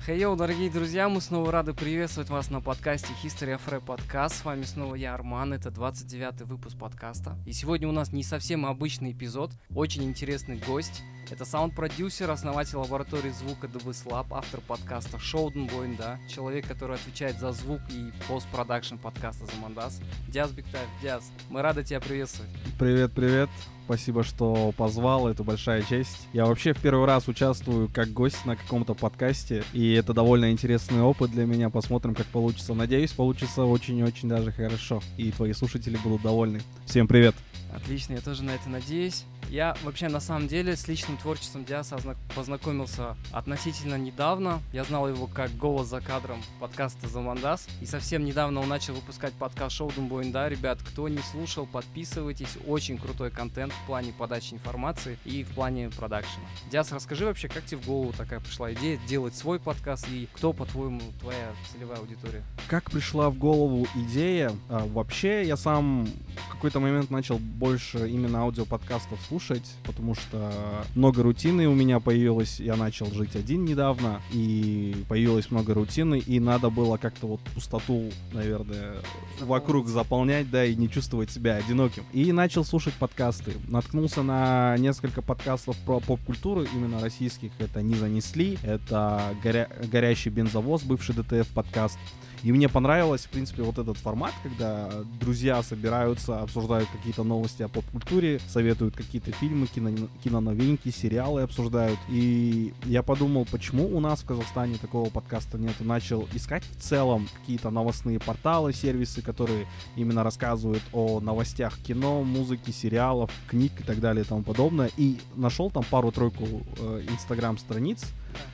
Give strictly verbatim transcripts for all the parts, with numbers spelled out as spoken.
Хей-йоу, дорогие друзья, мы снова рады приветствовать вас на подкасте History of Rap Podcast. С вами снова я, Арман, это двадцать девятый выпуск подкаста. И сегодня у нас не совсем обычный эпизод, очень интересный гость. Это саунд-продюсер, основатель лаборатории звука ди ви эс Lab, автор подкаста Шоуден Боинда, человек, который отвечает за звук и постпродакшн подкаста Замандас. Диас Бигтаев, Диас, мы рады тебя приветствовать. Привет, привет. Спасибо, что позвал, это большая честь. Я вообще в первый раз участвую как гость на каком-то подкасте, и это довольно интересный опыт для меня. Посмотрим, как получится. Надеюсь, получится очень-очень даже хорошо, и твои слушатели будут довольны. Всем привет! Отлично, я тоже на это надеюсь. Я вообще на самом деле с личным творчеством Диаса познакомился относительно недавно. Я знал его как голос за кадром подкаста Замандас. И совсем недавно он начал выпускать подкаст Шоуден Боинда. Ребят, кто не слушал, подписывайтесь. Очень крутой контент в плане подачи информации и в плане продакшена. Диас, расскажи вообще, как тебе в голову такая пришла идея делать свой подкаст и кто, по-твоему, твоя целевая аудитория? Как пришла в голову идея? А, вообще, я сам в какой-то момент начал больше именно аудиоподкастов слушать, потому что много рутины у меня появилось. Я начал жить один недавно, и появилось много рутины, и надо было как-то вот пустоту, наверное, Заполнить. вокруг заполнять, да, и не чувствовать себя одиноким. И начал слушать подкасты. Наткнулся на несколько подкастов про поп-культуру, именно российских. Это «Не занесли», это горя... «Горящий бензовоз», бывший ди ти эф подкаст. И мне понравилось, в принципе, вот этот формат, когда друзья собираются, обсуждают какие-то новости о поп-культуре, советуют какие-то фильмы, кино, киноновинки, сериалы обсуждают. И я подумал, почему у нас в Казахстане такого подкаста нет. Начал искать в целом какие-то новостные порталы, сервисы, которые именно рассказывают о новостях кино, музыки, сериалов, книг и так далее и тому подобное. И нашел там пару-тройку э, инстаграм-страниц.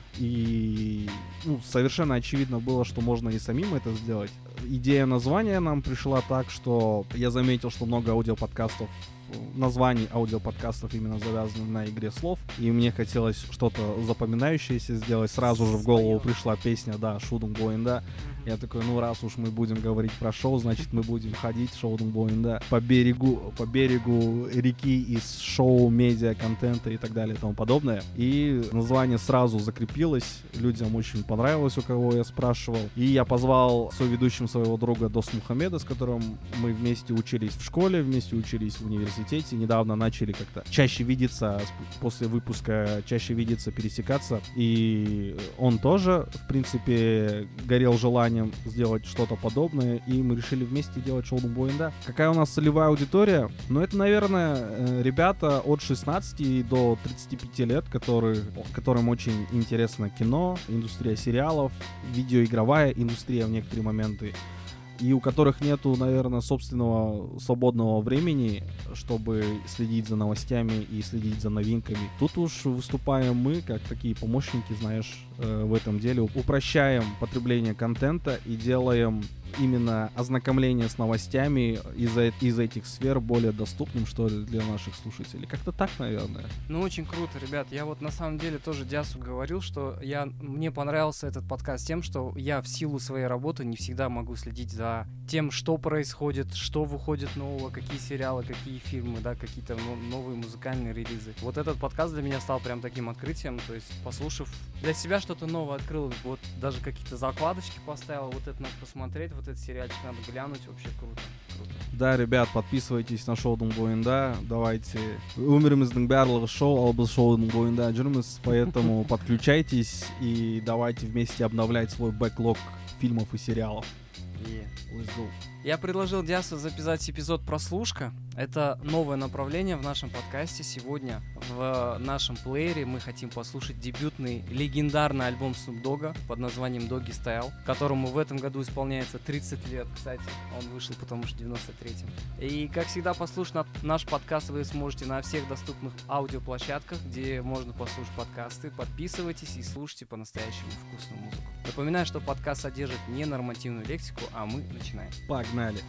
И ну, совершенно очевидно было, что можно и самим это сделать. Идея названия нам пришла так, что я заметил, что много аудиоподкастов, названий аудиоподкастов именно завязаны на игре слов, и мне хотелось что-то запоминающееся сделать. Сразу же в голову пришла песня, да, Шоуден Боинда. Я такой, ну раз уж мы будем говорить про шоу, значит мы будем ходить Шоуден Боинда по берегу, по берегу реки из шоу, медиа, контента и так далее и тому подобное. И название сразу закрепилось, людям очень понравилось, у кого я спрашивал. И я позвал соведущим своего друга Дос Мухаммеда, с которым мы вместе учились в школе, вместе учились в университете. Недавно начали как-то чаще видеться, после выпуска чаще видеться, пересекаться. И он тоже, в принципе, горел желанием сделать что-то подобное, и мы решили вместе делать Шоуден Боинда. Какая у нас целевая аудитория? Ну, это, наверное, ребята от шестнадцати до тридцати пяти лет, которые, которым очень интересно кино, индустрия сериалов, видеоигровая индустрия в некоторые моменты, и у которых нету, наверное, собственного свободного времени, чтобы следить за новостями и следить за новинками. Тут уж выступаем мы, как такие помощники, знаешь, в этом деле. Упрощаем потребление контента и делаем именно ознакомление с новостями из, из этих сфер более доступным, что ли, для наших слушателей. Как-то так, наверное. Ну, очень круто, ребят. Я вот на самом деле тоже Диасу говорил, что я, мне понравился этот подкаст тем, что я в силу своей работы не всегда могу следить за тем, что происходит, что выходит нового, какие сериалы, какие фильмы, да, какие-то новые музыкальные релизы. Вот этот подкаст для меня стал прям таким открытием, то есть, послушав, для себя что-то новое открыл, вот даже какие-то закладочки поставил, вот это надо посмотреть, вот этот сериальчик надо глянуть, вообще круто, круто. Да, ребят, подписывайтесь на Шоуден Боинда, давайте. Өміріміздің барлығы шоу, ал біз Шоуден Боинда жүрміз, поэтому подключайтесь и давайте вместе обновлять свой бэклог фильмов и сериалов. Yeah. Let's go. Я предложил Диасу записать эпизод «Прослушка». Это новое направление в нашем подкасте. Сегодня в нашем плеере мы хотим послушать дебютный легендарный альбом Snoop Dogg под названием Doggy Style, которому в этом году исполняется тридцать лет, кстати. Он вышел потому что в девяносто третьем. И, как всегда, послушать наш подкаст вы сможете на всех доступных аудиоплощадках, где можно послушать подкасты. Подписывайтесь и слушайте по-настоящему вкусную музыку. Напоминаю, что подкаст содержит ненормативную лексику, а мы начинаем. Погнали!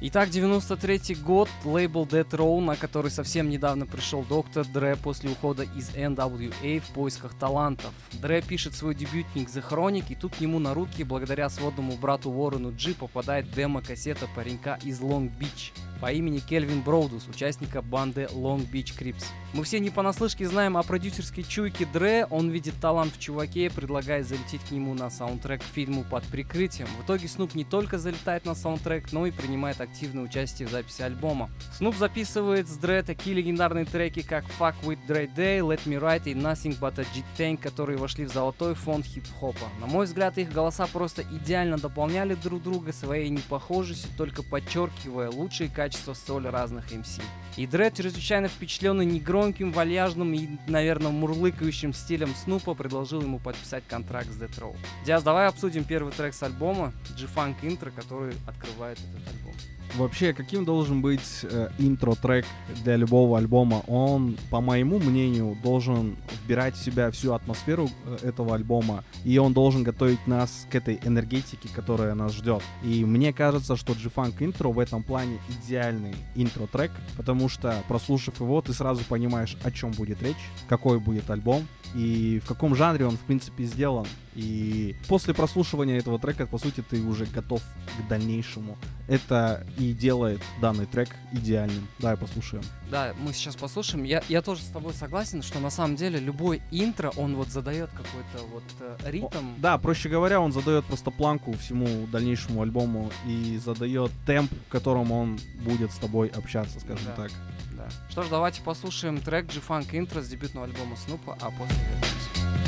Итак, девяносто третий год, лейбл Death Row, на который совсем недавно пришел доктор Dre после ухода из эн дабл ю эй в поисках талантов. Dre пишет свой дебютник The Chronic, и тут к нему на руки, благодаря сводному брату Уоррену Джи, попадает демо-кассета паренька из Лонг-Бич по имени Кельвин Броудус, участника банды Long Beach Crips. Мы все не понаслышке знаем о продюсерской чуйке Dre, он видит талант в чуваке и предлагает залететь к нему на саундтрек к фильму «Под прикрытием». В итоге Снуп не только залетает на саундтрек, но и принимает активное участие в записи альбома. Снуп записывает с Dre такие легендарные треки, как Fuck With Dre Day, Let Me Ride и Nothing But A G-Tank, которые вошли в золотой фонд хип-хопа. На мой взгляд, их голоса просто идеально дополняли друг друга своей непохожестью, только подчеркивая лучшие качества столь разных эм си. И Dre, чрезвычайно впечатленный негромким, вальяжным и, наверное, мурлыкающим стилем Снупа, предложил ему подписать контракт с Death Row. Диас, давай обсудим первый трек с альбома G-Funk Intro, который открывает этот альбом. Вообще, каким должен быть э, интро-трек для любого альбома? Он, по моему мнению, должен вбирать в себя всю атмосферу э, этого альбома, и он должен готовить нас к этой энергетике, которая нас ждет. И мне кажется, что G-Funk Intro в этом плане идеальный интро-трек, потому что, прослушав его, ты сразу понимаешь, о чем будет речь, какой будет альбом, и в каком жанре он, в принципе, сделан. И после прослушивания этого трека, по сути, ты уже готов к дальнейшему. Это и делает данный трек идеальным. Давай послушаем. Да, мы сейчас послушаем. Я, я тоже с тобой согласен, что на самом деле любой интро, он вот задает какой-то вот э, ритм. О, да, проще говоря, он задает просто планку всему дальнейшему альбому и задает темп, в котором он будет с тобой общаться, скажем да. так. Да. Что ж, давайте послушаем трек G-Funk Intro с дебютного альбома Снупа, а после вернемся.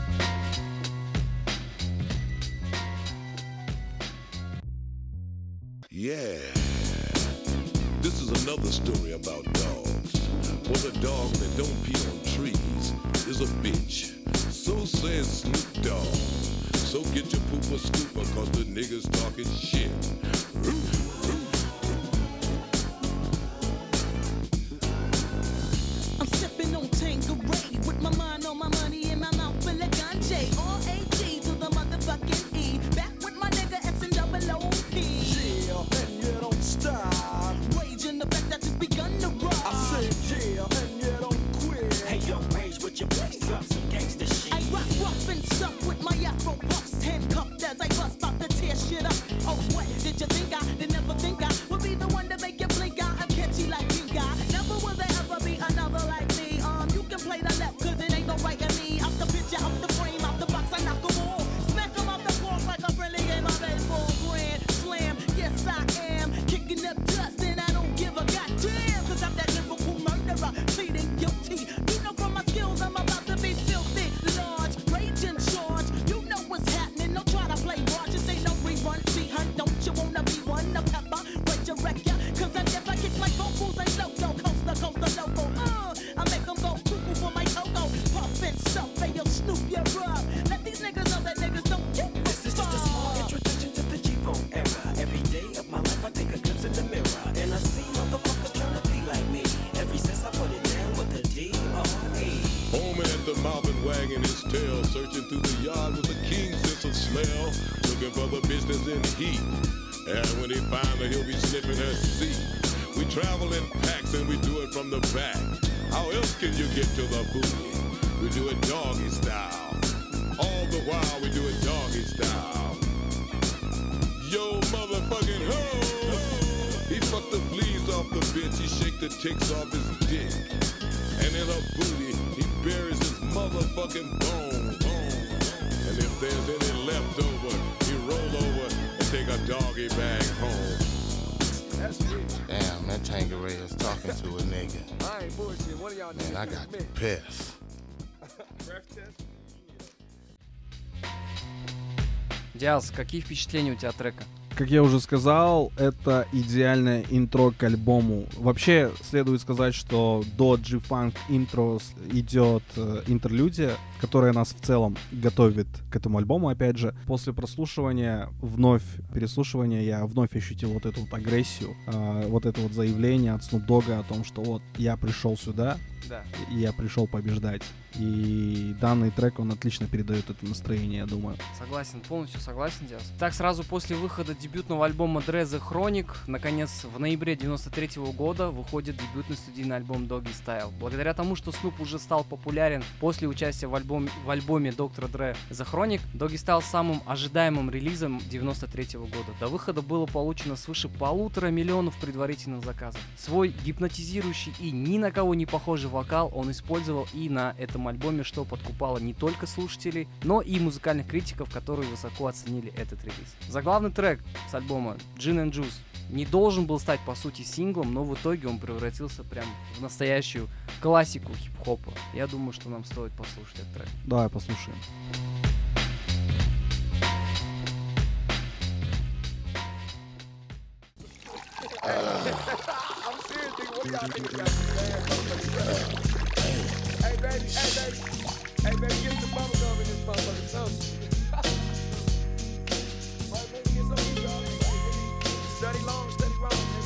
Yeah, this is another story about dogs. For the dog that don't pee on trees is a bitch. So says Snoop Dogg. So get your pooper scooper, cause the niggas talking shit. I'm sipping on Tanqueray with my mind on my money and my mouth full of ganja. R A G to the motherfucking E. Back with my nigga S and double O P. And you don't stop. Raging the fact that it's begun to rock. I said yeah, and you don't quit. Hey yo, Rage with your bass, drop some gangsta shit. I rock rough and stuff with my afro puffs. Handcuffed as I bust, about to tear shit up. Oh, what did you think I did never think I would be the one to make you blink out? I'm catchy like Pink Eye. Never will there ever be another like me. Um, you can play the left, cause it ain't no right in me. Out the picture, out the frame, out the box, I knock 'em all. Smack 'em off the floor like a friendly game of baseball. Grand slam, yes I am. Kicking up dust and I don't give a goddamn. Cause I'm that lyrical murderer, pleading guilty. You know from my skills I'm about to be filthy. Large, rage in charge. You know what's happening, don't try to play large. This ain't no rerun, see hun, don't you wanna be one? The pepper, wait your wreck ya. Cause I never kick my vocals and loco, coast to coast to loco. Uh, I make 'em go cuckoo for my cocoa. Puff and stuff, hey yo, Snoop, you're up. Let these niggas know that niggas don't get This is just a small introduction to the G-Funk era. Every day of my life I take a glimpse in the mirror, and I see motherfuckers trying to be like me. Ever since I put it down with the D R E. Foaming at the mouth and wagging his tail, searching through the yard with a keen sense of smell, looking for the business in heat. And when he finds her, he'll be sniffing her seat. We travel in packs and we do it from the back. How else can you get to the booty? We do it doggy style. All the while we do it doggy style. Yo, motherfucking ho! He fucked the fleas off the bitch, he shake the ticks off his dick. And in her booty, he buries his motherfucking bone. bone. And if there's any left over, he roll over and take a doggy bag home. That's rich. Damn, that Tanqueray is talking to a nigga. I ain't bullshit. One of y'all Man, I got pissed. breath test. Диас, какие впечатления у тебя от трека? Как я уже сказал, это идеальное интро к альбому. Вообще, следует сказать, что до G-Funk Intro идет э, интерлюдия, которая нас в целом готовит к этому альбому, опять же. После прослушивания, вновь переслушивания, я вновь ощутил вот эту вот агрессию, э, вот это вот заявление от Snoop Dogg о том, что вот я пришел сюда, Да. И я пришел побеждать. И данный трек, он отлично передает это настроение, я думаю. Согласен, полностью согласен, Диас. Так, сразу после выхода дебютного альбома Dre The Chronic, наконец, в ноябре девяносто третьего года выходит дебютный студийный альбом Doggy Style. Благодаря тому, что Snoop уже стал популярен после участия в, альбом, в альбоме доктора Dre The Chronic, Doggy стал самым ожидаемым релизом девяносто третьего года. До выхода было получено свыше полутора миллионов предварительных заказов. Свой гипнотизирующий и ни на кого не похожий вокал он использовал и на этом альбоме, что подкупало не только слушателей, но и музыкальных критиков, которые высоко оценили этот релиз. Заглавный трек с альбома Gin and Juice не должен был стать по сути синглом, но в итоге он превратился прям в настоящую классику хип-хопа. Я думаю, что нам стоит послушать этот трек. Давай послушаем. I'm serious, nigga. What do y'all think about this bad motherfucking Hey, baby, hey, baby. Hey, baby, get some bubble gum in this motherfucking something. Right, baby, get some of y'all. Study long, study wrong, nigga.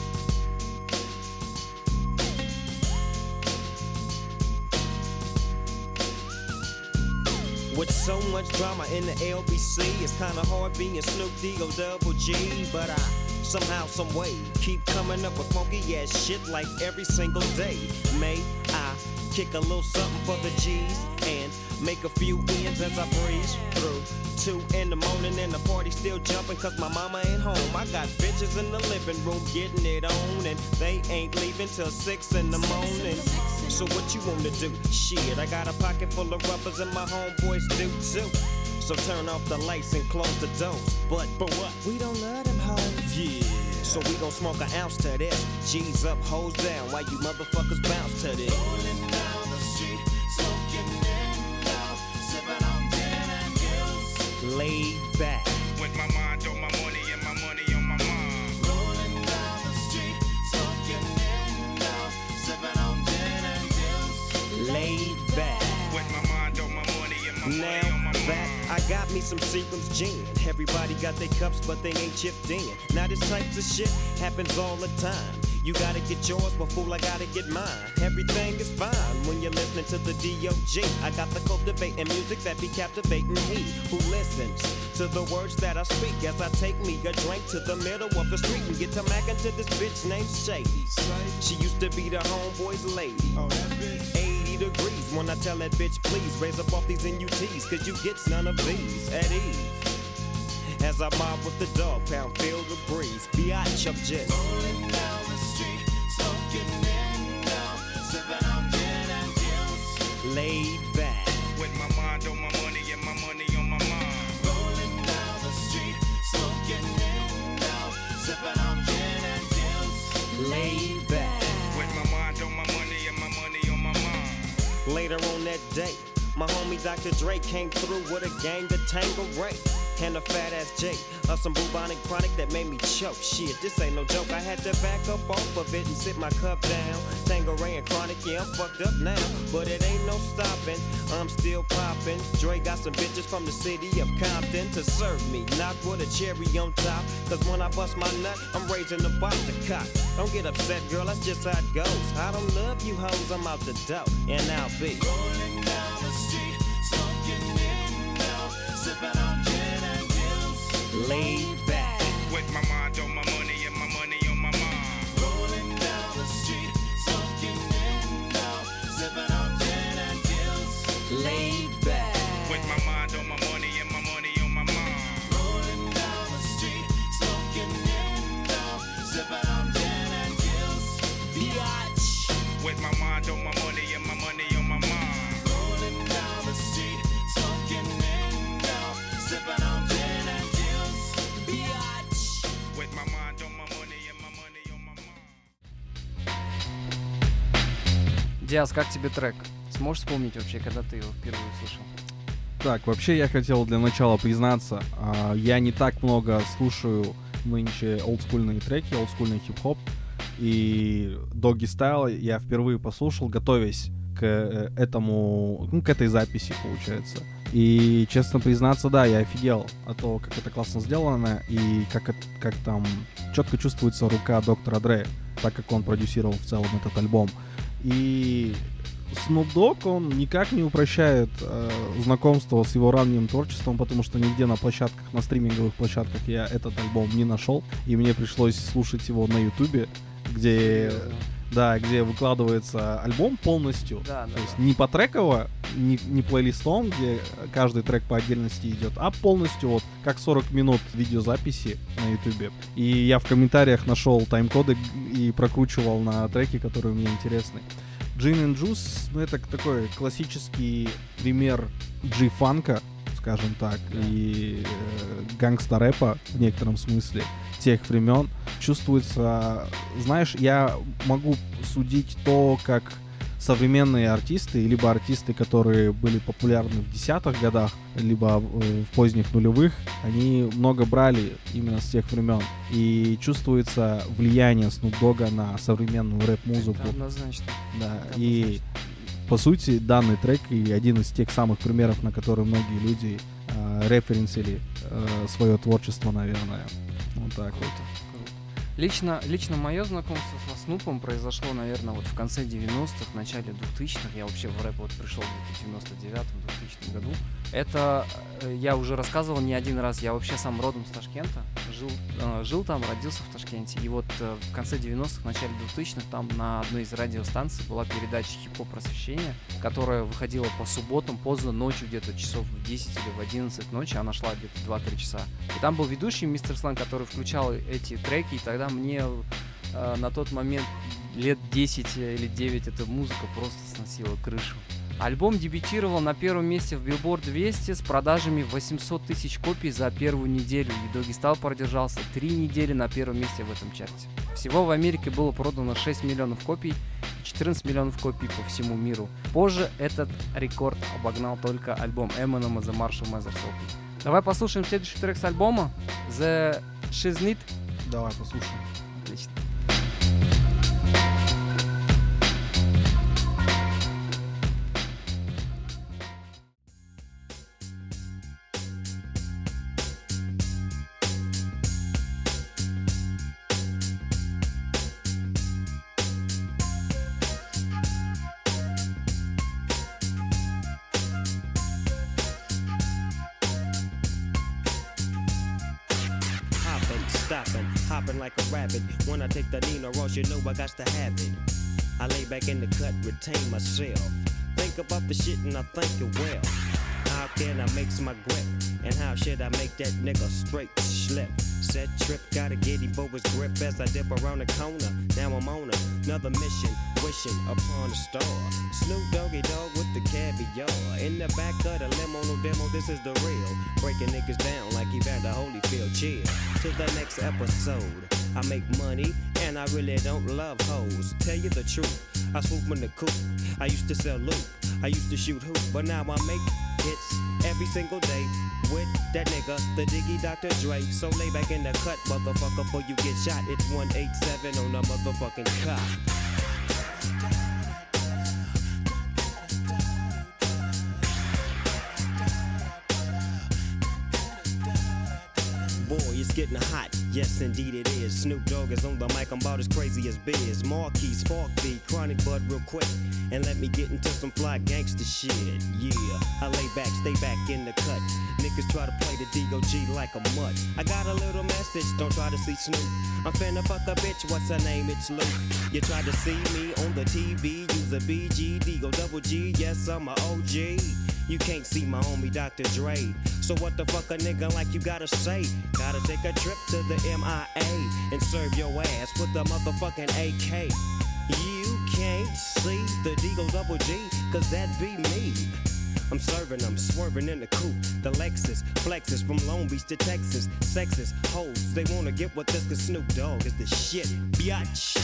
With so much drama in the L B C, it's kinda hard being Snoop D O Double G, but I somehow, some way keep coming up with funky ass shit like every single day. May I kick a little something for the G's and make a few ends as I breeze through. Two in the morning and the party still jumping cause my mama ain't home. I got bitches in the living room getting it on and they ain't leaving till six in the morning. So what you wanna do? Shit, I got a pocket full of rubbers and my homeboys do too. So turn off the lights and close the doors. But, but what? We don't love them hoes. Yeah. So we gon' smoke an ounce to this. G's up, hoes down, while you motherfuckers bounce to this. Rolling down the street, smoking in love, sipping on gin and juice. Laid back. With my mind on my money and my money on my mind. Rolling down the street, smoking in love, sipping on gin and juice. Laid back. With my mind on my money and my now, money on my mind. Back. I got me some Seagram's gin. Everybody got their cups, but they ain't chipped in. Now this type of shit happens all the time. You gotta get yours, but fool, I gotta get mine. Everything is fine when you're listening to the D O G. I got the cultivating music that be captivating he who listens to the words that I speak as I take me a drink to the middle of the street and get to mackin' to this bitch named Shady. She used to be the homeboy's lady. Oh, that bitch. eighty degrees when I tell that bitch, please raise up off these N U Ts, cause you get none of these at ease. As I mob with the dog pound, feel the breeze. Biatch, I'm just rolling down the street, smoking in now, sipping on gin and juice. Laid back. With my mind on my money and my money on my mind. Rolling down the street, smoking in now, sipping on gin and juice. Laid back. With my mind on my money and my money on my mind. Later on that day, my homie Doctor Dre came through with a gang of Tangeray and a fat ass J of some bubonic chronic that made me choke. Shit, this ain't no joke. I had to back up off of it and sit my cup down. Tangeray and chronic, yeah, I'm fucked up now, but it ain't no stopping. I'm still popping. Dre got some bitches from the city of Compton to serve me, not with a cherry on top. Cause when I bust my nut, I'm raising the bar to cock. Don't get upset, girl, that's just how it goes. I don't love you hoes, I'm out the dough, and I'll be rolling down the street, smoking in now, sipping on gin and juice. Laid back. With my mind on my money and my money on my mind. Rolling down the street, smoking in now, sipping on gin and juice. Laid back. With my mind on my money and my money on my mind. Rolling down the street, smoking in now, sipping on gin and juice. Biatch. With my mind on my money and my money on my mind. Rolling down the street, smoking in now, sipping on gin and juice. Biatch. With my mind on my money and my money on my mind. Диас, как тебе трек? Сможешь вспомнить вообще, когда ты его впервые услышал? Так, вообще я хотел для начала признаться, а, я не так много слушаю нынче олдскульные треки, олдскульный хип-хоп, и Doggy Style я впервые послушал, готовясь к э, этому, ну, к этой записи, получается. И, честно признаться, да, я офигел от того, как это классно сделано, и как, это, как там четко чувствуется рука доктора Dre, так как он продюсировал в целом этот альбом. И Snoop Dogg, он никак не упрощает э, знакомство с его ранним творчеством, потому что нигде на площадках, на стриминговых площадках я этот альбом не нашел, и мне пришлось слушать его на Ютубе, где, да, где выкладывается альбом полностью, Да, да, то есть да. не по треково, не, не плейлистом, где каждый трек по отдельности идет, а полностью вот как сорок минут видеозаписи на Ютубе. И я в комментариях нашел тайм-коды и прокручивал на треки, которые мне интересны. Gin and Juice, ну это такой классический пример G-фанка, скажем так, Да. и э, гангста-рэпа в некотором смысле тех времен. Чувствуется, знаешь, я могу судить то, как современные артисты, либо артисты, которые были популярны в десятых годах, либо в, в поздних нулевых, они много брали именно с тех времен. И чувствуется влияние Snoop Dogg'a на современную рэп-музыку. Это однозначно. Да, Это и однозначно. по сути данный трек и один из тех самых примеров, на которые многие люди э, референсили э, свое творчество, наверное. Вот так вот. Круто. Лично, лично мое знакомство со Снупом произошло, наверное, вот в конце девяностых, в начале двухтысячных. Я вообще в рэп вот пришел где-то в девяносто девятом — двухтысячном году. Это, э, я уже рассказывал не один раз, я вообще сам родом с Ташкента, жил, э, жил там, родился в Ташкенте. И вот э, в конце девяностых, в начале двухтысячных там на одной из радиостанций была передача «Хип-хоп просвещения», которая выходила по субботам поздно ночью, где-то часов в десять или в одиннадцать ночи, она шла где-то два-три часа. И там был ведущий мистер Сланг, который включал эти треки, и тогда мне э, на тот момент лет десять или девять эта музыка просто сносила крышу. Альбом дебютировал на первом месте в Billboard двести с продажами восемьсот тысяч копий за первую неделю, и Doggy Style продержался три недели на первом месте в этом чарте. Всего в Америке было продано шесть миллионов копий, четырнадцать миллионов копий по всему миру. Позже этот рекорд обогнал только альбом Eminem The Marshall Mathers L P. Давай послушаем следующий трек с альбома The Shiznit. Давай послушаем. Отлично. Stopping, hopping like a rabbit. When I take the Nino Ross, you know I got to have it. I lay back in the cut, retain myself. Think about the shit and I think it well. How can I make my grip? And how should I make that nigga straight slip? Set trip, gotta get him for his grip as I dip around the corner. Now I'm on another mission, wishing upon a star. Snoop Doggy Dogg with the caviar. In the back of the limo, no demo, this is the real. Breaking niggas down like Evander Holyfield. Chill to the next episode. I make money and I really don't love hoes. Tell you the truth, I swoop in the coop. I used to sell loot, I used to shoot hoop, but now I make hits every single day with that nigga, the Diggy Doctor Dre. So lay back in the cut, motherfucker, before you get shot. It's one eighty-seven on the motherfucking cop. Boy, it's getting hot, yes indeed it is. Snoop Dogg is on the mic, I'm about as crazy as Biz. Marquis, Spark B, Chronic Bud real quick. And let me get into some fly gangster shit. Yeah, I lay back, stay back in the cut. Niggas try to play the D O G like a mutt. I got a little message, don't try to see Snoop. I'm finna fuck a bitch, what's her name? It's Luke. You tried to see me on the T V, use a B G, D O double G, yes I'm a O G. You can't see my homie Doctor Dre. So what the fuck a nigga like you gotta say? Gotta take a trip to the M I A and serve your ass with the motherfucking A K. You can't see the D-O double G, cause that be me. I'm serving them, swerving in the coupe. The Lexus flexes from Long Beach to Texas. Sexist hoes, they wanna get with this cause Snoop Dogg is the shit, biatch.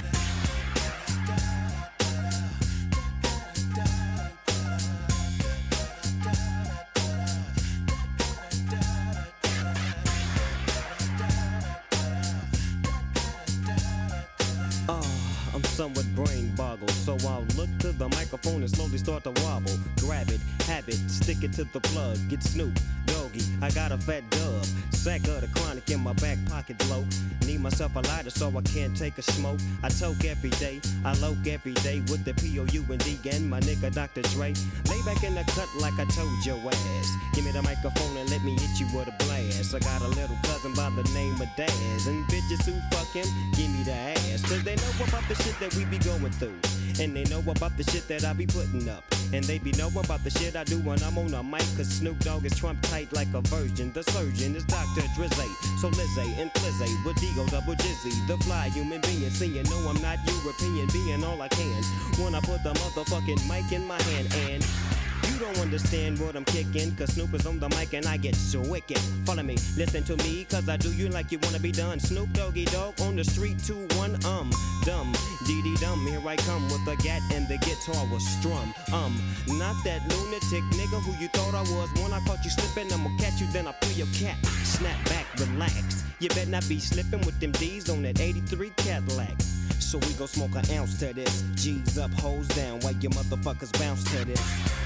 Somewhat brain boggled, so I'll look to the microphone and slowly start to wobble. Grab it, have it, stick it to the plug. Get Snoop Dogg Doggy. I got a fat dub, sack of the chronic in my back pocket low. Need myself a lighter so I can't take a smoke. I toke every day, I loke every day with the P O U and D and my nigga Doctor Dre. Lay back in the cut like I told your ass. Give me the microphone and let me hit you with a blast. I got a little cousin by the name of Daz, and bitches who fuck him, give me the ass. Cause they know about the shit that we be going through, and they know about the shit that I be putting up, and they be know about the shit I do when I'm on a mic. Cause Snoop Dogg is Trump tight like a virgin. The surgeon is Doctor Drizzy. So Lizzie and Flizzy with Digo double Jizzy, the fly human being. See, you know I'm not European, being all I can when I put the motherfucking mic in my hand. And you don't understand what I'm kicking, cause Snoop is on the mic and I get so wicked. Follow me, listen to me, cause I do you like you wanna be done. Snoop Doggy Dogg on the street, two, one, um, dumb, dee dee dum. Here I come with the gat and the guitar was strum. Um, not that lunatic nigga who you thought I was. When I caught you slipping, I'ma catch you, then I pull your cat. Snap back, relax. You better not be slipping with them D's on that eighty-three Cadillac. So we gon' smoke an ounce to this. G's up, hoes down, while you motherfuckers bounce to this.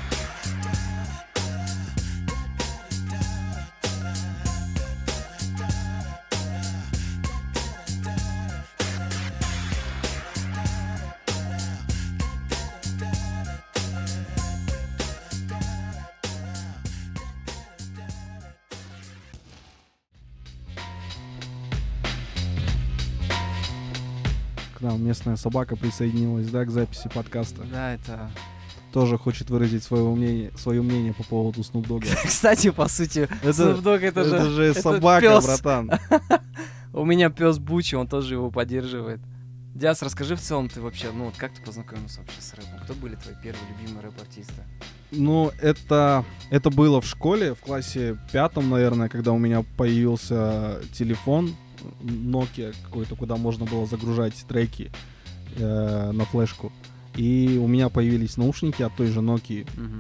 К нам местная собака присоединилась, да, к записи подкаста. Да, это... Тоже хочет выразить свое мнение, свое мнение по поводу Snoop Dogg. Кстати, по сути, Snoop Dogg это же... Это же это собака, пёс. братан. У меня пес Бучи, он тоже его поддерживает. Диас, расскажи в целом, ты вообще, ну вот как ты познакомился вообще с рэпом? Кто были твои первые любимые рэп-артисты? Ну, это, это было в школе, в классе пятом, наверное, когда у меня появился телефон Nokia какой-то, куда можно было загружать треки э, на флешку. И у меня появились наушники от той же Nokia. Угу.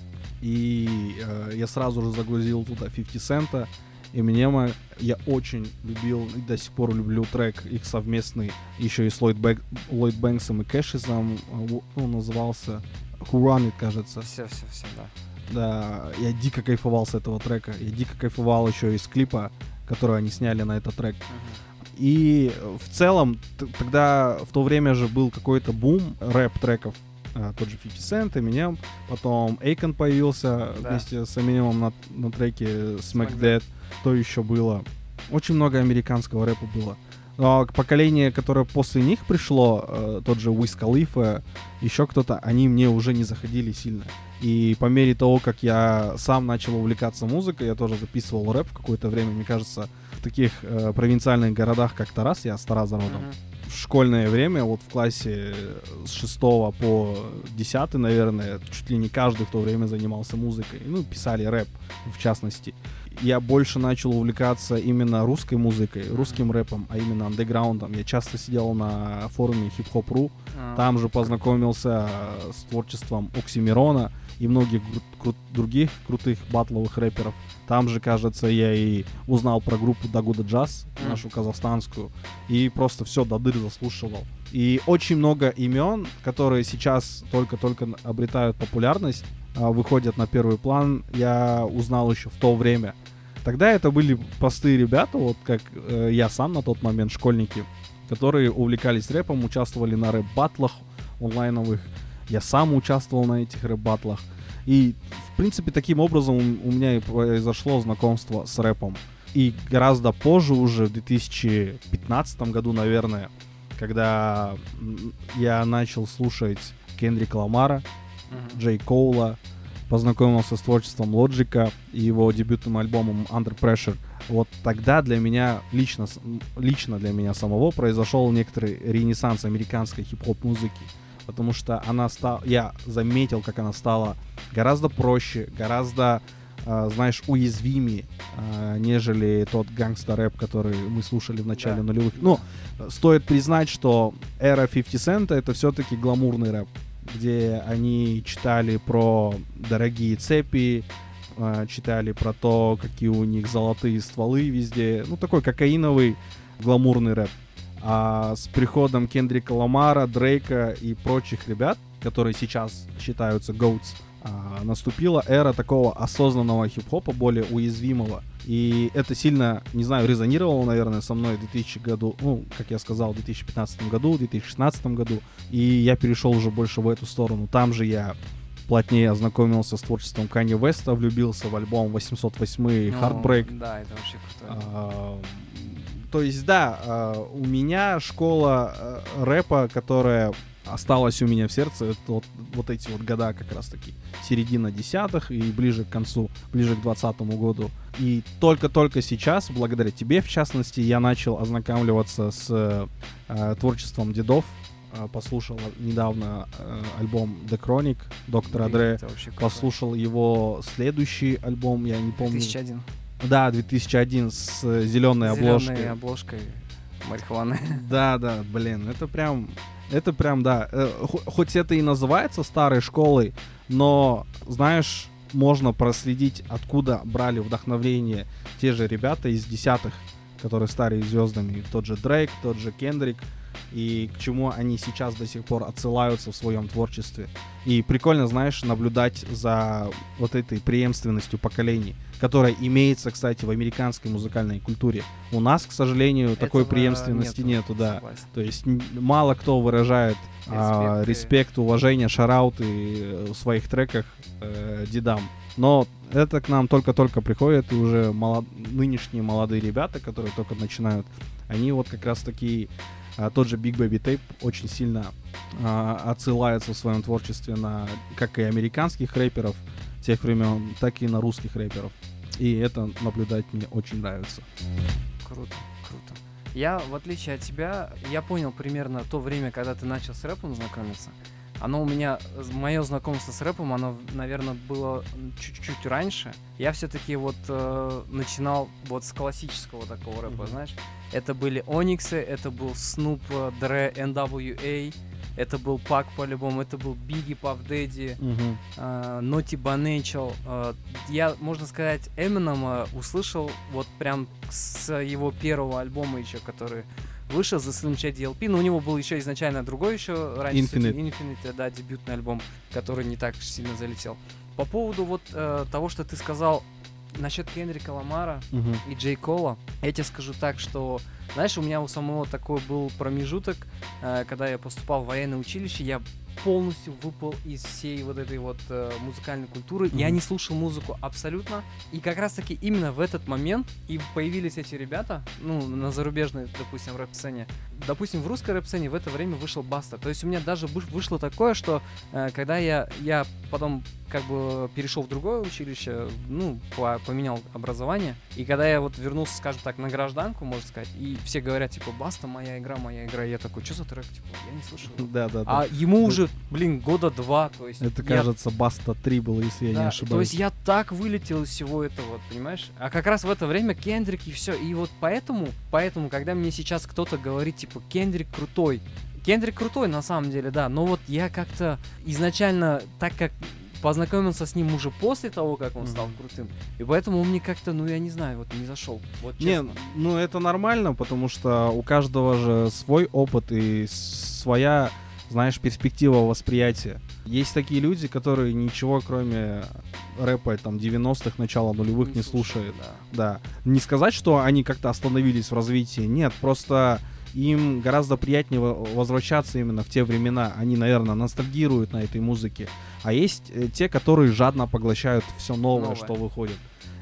И э, я сразу же загрузил туда фифти Cent, Эминема. Я очень любил и до сих пор люблю трек их совместный еще и с Ллойд, Бэк, Ллойд Бэнксом и Кэшизом. Он назывался Who Run It, кажется. Все, все, все, да. Да, я дико кайфовал с этого трека. Я дико кайфовал еще из клипа, который они сняли на этот трек. Uh-huh. И в целом, т- тогда в то время же был какой-то бум рэп-треков. А, тот же фифти Cent, Eminem. Потом Akon появился да. вместе с Eminem на, на треке Smack That. Что еще было? Очень много американского рэпа было. Но поколение, которое после них пришло, э, тот же Wiz Khalifa, еще кто-то, они мне уже не заходили сильно. И по мере того, как я сам начал увлекаться музыкой, я тоже записывал рэп в какое-то время. Мне кажется, в таких э, провинциальных городах, как Тарас, я с Тараза родом, mm-hmm. в школьное время, вот в классе с шестого по десятый, наверное, чуть ли не каждый в то время занимался музыкой. Ну, писали рэп, в частности. Я больше начал увлекаться именно русской музыкой, русским рэпом, а именно андеграундом. Я часто сидел на форуме хип-хоп точка ру, а, там же познакомился с творчеством Оксимирона и многих кру- кру- других крутых батловых рэперов. Там же, кажется, я и узнал про группу Дагуда Джаз, mm. нашу казахстанскую, и просто все до дыр заслушивал. И очень много имен, которые сейчас только-только обретают популярность, выходят на первый план, я узнал еще в то время. Тогда это были простые ребята, вот как э, я сам на тот момент, школьники, которые увлекались рэпом, участвовали на рэп-баттлах онлайновых. Я сам участвовал на этих рэп-баттлах. И, в принципе, таким образом у меня и произошло знакомство с рэпом. И гораздо позже, уже в две тысячи пятнадцатом году, наверное, когда я начал слушать Кендрика Ламара, uh-huh. Джей Коула, познакомился с творчеством Лоджика и его дебютным альбомом Under Pressure. Вот тогда для меня, лично, лично для меня самого, произошел некоторый ренессанс американской хип-хоп музыки. Потому что она стала, я заметил, как она стала гораздо проще, гораздо, э, знаешь, уязвимее, э, нежели тот гангста-рэп, который мы слушали в начале да. нулевых. Ну, стоит признать, что эра фифти Cent это все-таки гламурный рэп, где они читали про дорогие цепи, э, читали про то, какие у них золотые стволы везде. Ну, такой кокаиновый гламурный рэп. А с приходом Кендрика Ламара, Дрейка и прочих ребят, которые сейчас считаются гоутс, а, наступила эра такого осознанного хип-хопа, более уязвимого. И это сильно, не знаю, резонировало, наверное, со мной в две тысячи году, ну, как я сказал, в две тысячи пятнадцатом году, в две тысячи шестнадцатом году. И я перешел уже больше в эту сторону. Там же я плотнее ознакомился с творчеством Канье Уэста, влюбился в альбом восемьсот восемь Heartbreak. Да, это вообще круто. А, то есть, да, а, у меня школа а, рэпа, которая осталась у меня в сердце, это вот, вот эти вот года как раз-таки, середина десятых и ближе к концу, ближе к двадцатому году. И только-только сейчас, благодаря тебе, в частности, я начал ознакомливаться с а, творчеством дедов. Послушал недавно э, альбом The Chronic доктора Dre, послушал его следующий альбом, я не помню. две тысячи один. Да, две тысячи один с зеленой обложкой. Зеленой обложкой марихуаны. Да, да, блин, это прям, это прям, да. Э, хоть это и называется старой школой, но, знаешь, можно проследить, откуда брали вдохновение те же ребята из десятых, которые стали звездами. Тот же Дрейк, тот же Кендрик. И к чему они сейчас до сих пор отсылаются в своем творчестве. И прикольно, знаешь, наблюдать за вот этой преемственностью поколений, которая имеется, кстати, в американской музыкальной культуре. У нас, к сожалению, этого такой преемственности нету, нету да. Согласен. То есть н- мало кто выражает респект, а, респект уважение, шарауты в своих треках э, дедам. Но это к нам только-только приходит, и уже молод... нынешние молодые ребята, которые только начинают, они вот как раз таки... А, тот же Big Baby Tape очень сильно а, отсылается в своем творчестве на как и американских рэперов тех времен, так и на русских рэперов. И это наблюдать мне очень нравится. Круто, круто. Я, в отличие от тебя, я понял примерно то время, когда ты начал с рэпом знакомиться. Оно у меня, мое знакомство с рэпом, оно, наверное, было чуть-чуть раньше. Я все-таки вот э, начинал вот с классического такого рэпа, mm-hmm. знаешь. Это были Ониксы, это был Snoop, Dre, эн дабл ю эй, это был Пак по-любому, это был Biggie, Puff Daddy, mm-hmm. э, Naughty by Nature. Э, я, можно сказать, Эминема услышал вот прям с его первого альбома еще, который... вышел за Slim Shady эл пи, но у него был еще изначально другой еще раньше. Infinite. Infinite, да, дебютный альбом, который не так сильно залетел. По поводу вот э, того, что ты сказал насчет Кендрика Ламара uh-huh. и Джей Кола, я тебе скажу так, что, знаешь, у меня у самого такой был промежуток, э, когда я поступал в военное училище, я полностью выпал из всей вот этой вот э, музыкальной культуры. Mm-hmm. Я не слушал музыку абсолютно. И как раз-таки именно в этот момент и появились эти ребята, ну, на зарубежной, допустим, рэп-сцене. Допустим, в русской рэп-сцене в это время вышел Баста. То есть у меня даже вышло такое, что э, когда я, я потом как бы перешел в другое училище, ну, по- поменял образование, и когда я вот вернулся, скажем так, на гражданку, можно сказать, и все говорят, типа, Баста, моя игра, моя игра, я такой, что за трек, типа, я не слышал. Да, да, да. А ему уже, блин, года два, то есть... Это, я... кажется, Баста три было, если я да, не ошибаюсь. То есть я так вылетел из всего этого, вот, понимаешь? А как раз в это время Кендрик и все. И вот поэтому, поэтому, когда мне сейчас кто-то говорит, типа, Кендрик крутой, Кендрик крутой, на самом деле, да, но вот я как-то изначально, так как познакомился с ним уже после того, как он mm-hmm. стал крутым, и поэтому он мне как-то, ну, я не знаю, вот не зашел, вот честно. Не, ну, это нормально, потому что у каждого же свой опыт и своя, знаешь, перспектива восприятия. Есть такие люди, которые ничего, кроме рэпа там девяностых, начала нулевых не, не слушают. Да. да. Не сказать, что они как-то остановились в развитии, нет, просто им гораздо приятнее возвращаться именно в те времена. Они, наверное, ностальгируют на этой музыке. А есть э, те, которые жадно поглощают все новое, новое, что выходит.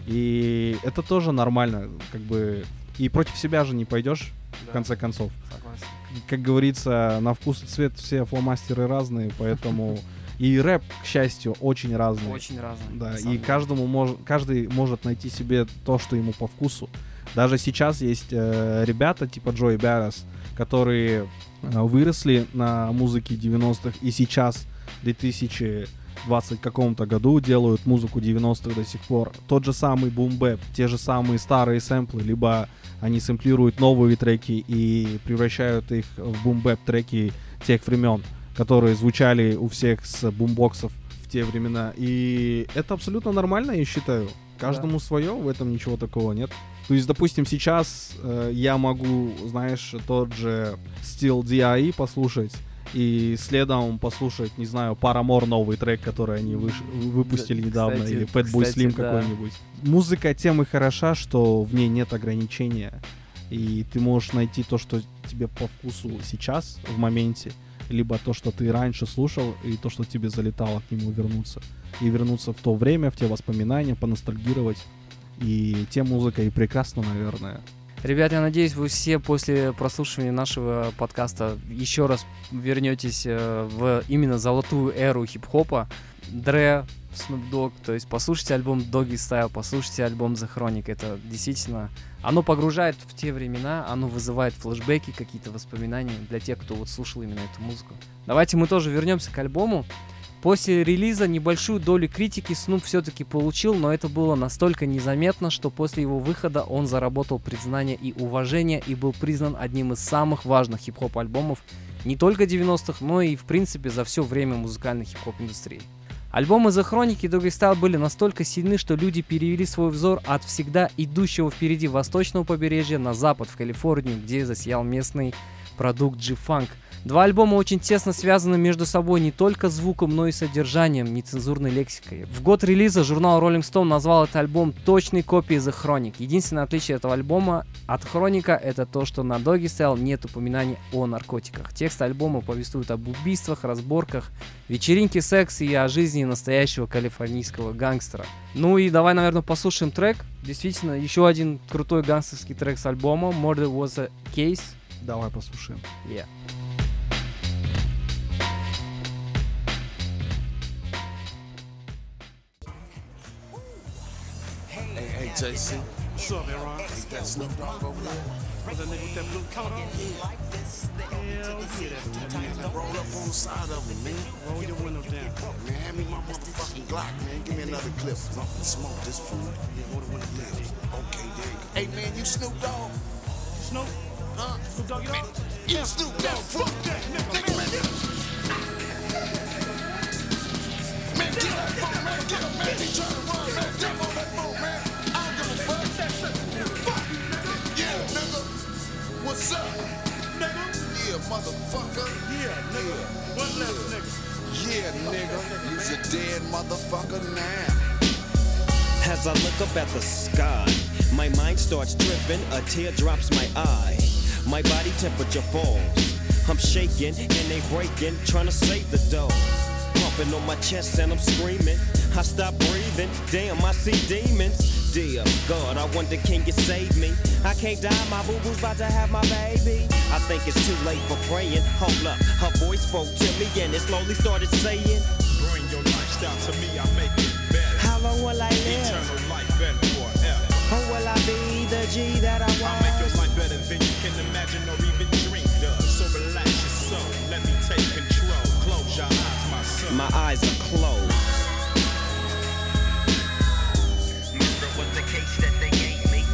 И это тоже нормально, как бы. И против себя же не пойдешь, да. в конце концов. Согласен. Как говорится, на вкус и цвет все фломастеры разные, поэтому и рэп, к счастью, очень разный. Очень разный. Да, и каждому мож, каждый может найти себе то, что ему по вкусу. Даже сейчас есть э, ребята типа Джои Баррес, которые э, выросли на музыке девяностых и сейчас в две тысячи двадцатом каком-то году делают музыку девяностых до сих пор. Тот же самый бум-бэп, те же самые старые сэмплы, либо они сэмплируют новые треки и превращают их в бум-бэп треки тех времен, которые звучали у всех с бумбоксов в те времена. И это абсолютно нормально, я считаю. Каждому да. свое, в этом ничего такого нет. То есть, допустим, сейчас э, я могу, знаешь, тот же Still ди ай и послушать, и следом послушать, не знаю, Paramore новый трек, который они выш- выпустили Да, недавно, кстати, или Fatboy кстати, Slim да. какой-нибудь. Музыка тем и хороша, что в ней нет ограничения, и ты можешь найти то, что тебе по вкусу сейчас, в моменте, либо то, что ты раньше слушал, и то, что тебе залетало, к нему вернуться. И вернуться в то время, в те воспоминания, поностальгировать. И тем музыка и прекрасна, наверное. Ребят, я надеюсь, вы все после прослушивания нашего подкаста еще раз вернетесь э, в именно золотую эру хип-хопа. Dre, Snoop Dogg, то есть послушайте альбом Doggy Style, послушайте альбом The Chronic. Это действительно, оно погружает в те времена, оно вызывает флешбеки, какие-то воспоминания для тех, кто вот слушал именно эту музыку. Давайте мы тоже вернемся к альбому. После релиза небольшую долю критики Снуп все-таки получил, но это было настолько незаметно, что после его выхода он заработал признание и уважение и был признан одним из самых важных хип-хоп альбомов не только девяностых, но и в принципе за все время музыкальной хип-хоп индустрии. Альбомы The Chronic и Doggy Style были настолько сильны, что люди перевели свой взор от всегда идущего впереди восточного побережья на запад, в Калифорнию, где засиял местный продукт G-Funk. Два альбома очень тесно связаны между собой не только звуком, но и содержанием, нецензурной лексикой. В год релиза журнал Rolling Stone назвал этот альбом точной копией The Chronic. Единственное отличие этого альбома от Хроника — это то, что на Doggy Style нет упоминаний о наркотиках. Текст альбома повествует об убийствах, разборках, вечеринке, сексе и о жизни настоящего калифорнийского гангстера. Ну и давай, наверное, послушаем трек. Действительно, еще один крутой гангстерский трек с альбома Murder Was a Case. Давай послушаем. Yeah. Hey, J C. What's up, Aaron? Ain't that Snoop Dogg over there? What's that nigga with that blue coat on? Hell yeah, that nigga. Roll up on the side of him, man. Roll your window down. Man, hand me my motherfucking Glock, man. Give me another clip. Smoke this fool. Yeah, roll the window down. Okay, there you go. Hey, man, you Snoop Dogg? Snoop? Huh? Snoop Doggy Dogg? You Snoop Dogg? Fuck that, nigga, man. Man, get up, fuck, man. Get up, man. He trying to run, man. Jump on that phone, man. I don't give a fuck. Fuck. Yeah, nigga. What's up? Nigga? Yeah, motherfucker. Yeah, nigga. One left nigga. Yeah, nigga. You's a dead motherfucker now. As I look up at the sky, my mind starts tripping, a tear drops my eye. My body temperature falls. I'm shaking and they breaking, trying to save the dough. Pumping on my chest and I'm screaming. I stop breathing, damn, I see demons. Dear God, I wonder, can you save me? I can't die, my boo-boo's about to have my baby. I think it's too late for praying. Hold up, her voice spoke to me and it slowly started saying, Bring your lifestyle to me, I make it better. how long will I live? Eternal life and forever. Or will I be the G that I was? I'll make your life better than you can imagine or even dream of. So relax your soul, let me take control. Close your eyes, my son. My eyes are closed. Murder was the case that they gave me.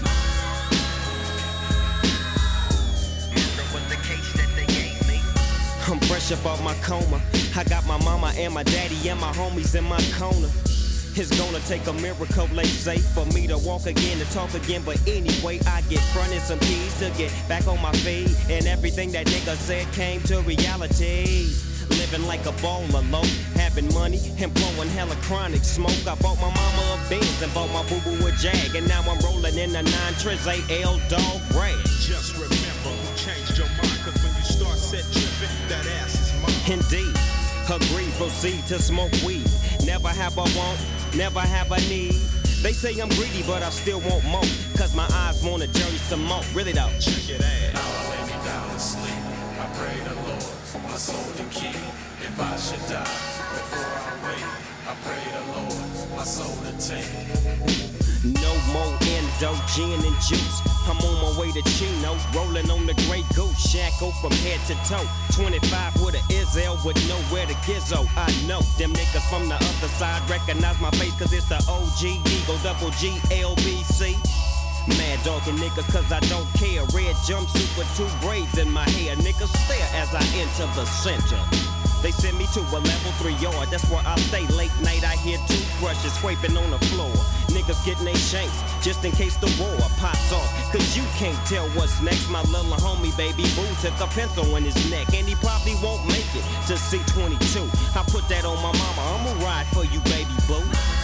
Murder was the case that they gave me. I'm fresh up off my coma. I got my mama and my daddy and my homies in my corner. It's gonna take a miracle, they say, for me to walk again, to talk again. But anyway, I get fronted some keys to get back on my feet. And everything that nigga said came to reality. Living like a baller low, having money and blowing hella chronic smoke. I bought my mama a Benz and bought my boo-boo a Jag. And now I'm rolling in a nine Triz A L Dog Rag. Just remember who changed your mind, cause when you start set tripping, that ass is mine. Indeed, agree, proceed to smoke weed. Never have a want, never have a need. They say I'm greedy, but I still want more. Cause my eyes wanna journey some more. Really though. Check it out. Now I lay me down to sleep. I pray the Lord, my soul to keep. If I should die before I wake, I pray the Lord, my soul to take. No more endo, gin and juice. I'm on my way to Chino, rolling on the Grey Goose. Shackle from head to toe. twenty-five with a Izzel with nowhere to gizzo. I know them niggas from the other side recognize my face, cause it's the O G, Eagle, double G, L B C. Mad dogging niggas cause I don't care. Red jumpsuit with two braids in my hair. Niggas stare as I enter the center. They send me to a level three yard, that's where I stay late night. I hear toothbrushes scraping on the floor. Niggas niggas getting they shanks just in case the war pops off. Cause you can't tell what's next. My little homie, baby boo, took a pencil in his neck, and he probably won't make it to C twenty-two. I put that on my mama, I'ma ride for you, baby boo.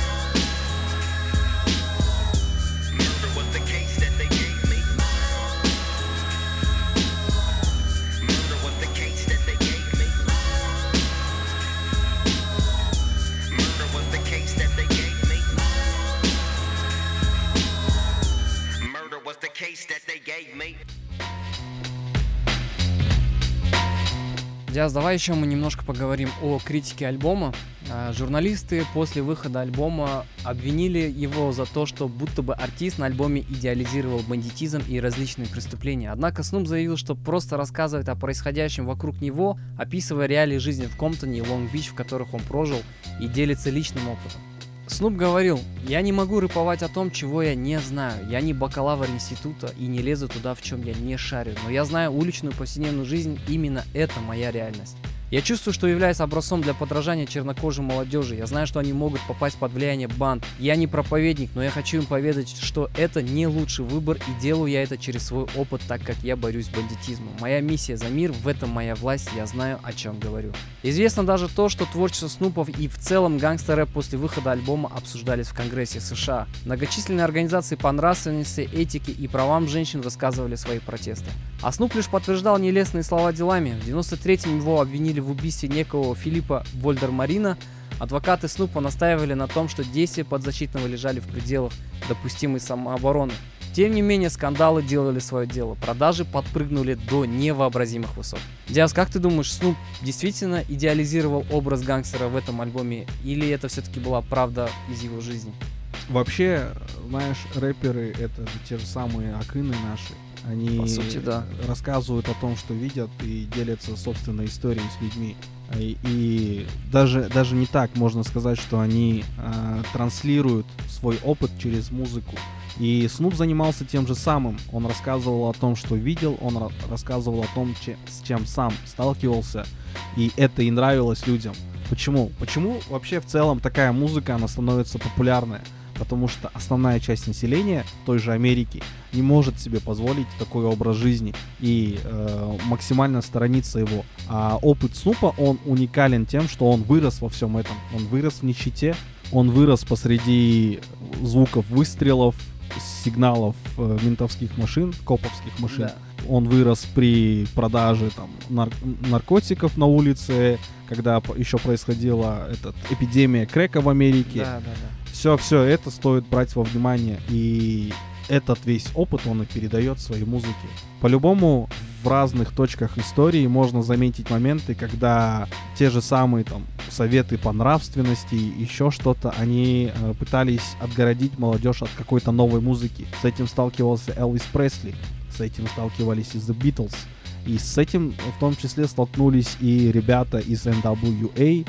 Murder was the case that they gave me. Murder was the case that they gave me. Murder was the case that they gave me. Murder was the case that they gave me. Диас, давай еще мы немножко поговорим о критике альбома. А, журналисты после выхода альбома обвинили его за то, что будто бы артист на альбоме идеализировал бандитизм и различные преступления. Однако Снуп заявил, что просто рассказывает о происходящем вокруг него, описывая реалии жизни в Комптоне и Лонг-Бич, в которых он прожил, и делится личным опытом. Снуп говорил: «Я не могу рэповать о том, чего я не знаю. Я не бакалавр института и не лезу туда, в чем я не шарю. Но я знаю уличную повседневную жизнь, именно это моя реальность. Я чувствую, что являюсь образцом для подражания чернокожей молодежи. Я знаю, что они могут попасть под влияние банд. Я не проповедник, но я хочу им поведать, что это не лучший выбор, и делаю я это через свой опыт, так как я борюсь с бандитизмом. Моя миссия за мир, в этом моя власть, я знаю, о чем говорю». Известно даже то, что творчество Снупов и в целом гангстер-рэп после выхода альбома обсуждались в Конгрессе США. Многочисленные организации по нравственности, этике и правам женщин высказывали свои протесты. А Снуп лишь подтверждал нелестные слова делами. В девяносто третьем его обвинили в убийстве некого Филиппа Вольдермарина. Адвокаты Снупа настаивали на том, что действия подзащитного лежали в пределах допустимой самообороны. Тем не менее, скандалы делали свое дело. Продажи подпрыгнули до невообразимых высот. Диас, как ты думаешь, Снуп действительно идеализировал образ гангстера в этом альбоме? Или это все-таки была правда из его жизни? Вообще, знаешь, рэперы — это те же самые акыны наши. Они По сути, да. рассказывают о том, что видят, и делятся собственной историей с людьми. И, и даже, даже не так можно сказать, что они э, транслируют свой опыт через музыку. И Снуп занимался тем же самым. Он рассказывал о том, что видел, он ра- рассказывал о том, че- с чем сам сталкивался. И это и нравилось людям. Почему? Почему вообще в целом такая музыка, она становится популярной? Потому что основная часть населения той же Америки не может себе позволить такой образ жизни и э, максимально сторониться его. А опыт Снупа, он уникален тем, что он вырос во всем этом. Он вырос в нищете, он вырос посреди звуков выстрелов, сигналов э, ментовских машин, коповских машин. Да. Он вырос при продаже там, нар- наркотиков на улице, когда еще происходила этот, эпидемия крэка в Америке. Да, да, да. Все, все это стоит брать во внимание, и этот весь опыт он и передает в своей музыке. По-любому в разных точках истории можно заметить моменты, когда те же самые там советы по нравственности, еще что-то, они э, пытались отгородить молодежь от какой-то новой музыки. С этим сталкивался Элвис Пресли, с этим сталкивались и The Beatles, и с этим в том числе столкнулись и ребята из эн дабл ю эй,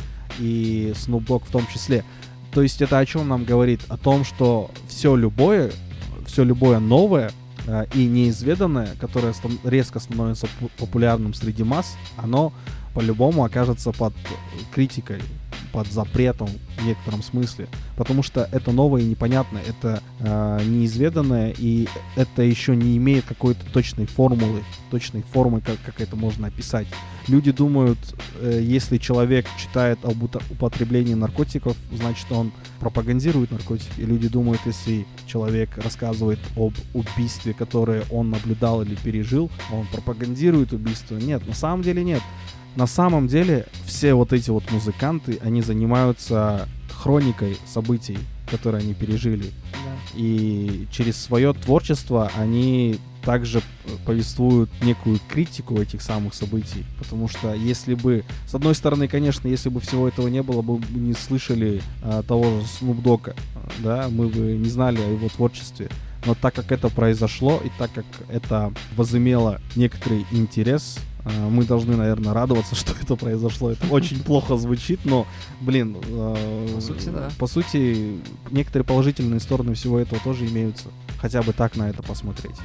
и Snoop Dogg в том числе. То есть это о чем нам говорит? О том, что все любое, все любое новое э, и неизведанное, которое ст- резко становится п- популярным среди масс, оно по-любому окажется под критикой, под запретом в некотором смысле. Потому что это новое и непонятное, это э, неизведанное, и это еще не имеет какой-то точной формулы, точной формы, как, как это можно описать. Люди думают, э, если человек читает об употреблении наркотиков, значит, он пропагандирует наркотики. И люди думают, если человек рассказывает об убийстве, которое он наблюдал или пережил, он пропагандирует убийство. Нет, на самом деле нет. На самом деле все вот эти вот музыканты, они занимаются хроникой событий, которые они пережили. Да. И через свое творчество они также повествуют некую критику этих самых событий. Потому что если бы, с одной стороны, конечно, если бы всего этого не было, мы бы не слышали а, того же Snoop Dogg'а, да, мы бы не знали о его творчестве. Но так как это произошло, и так как это возымело некоторый интерес, мы должны, наверное, радоваться, что это произошло. Это очень плохо звучит, но, блин, По сути, да. По сути, некоторые положительные стороны всего этого тоже имеются. Хотя бы так на это посмотреть.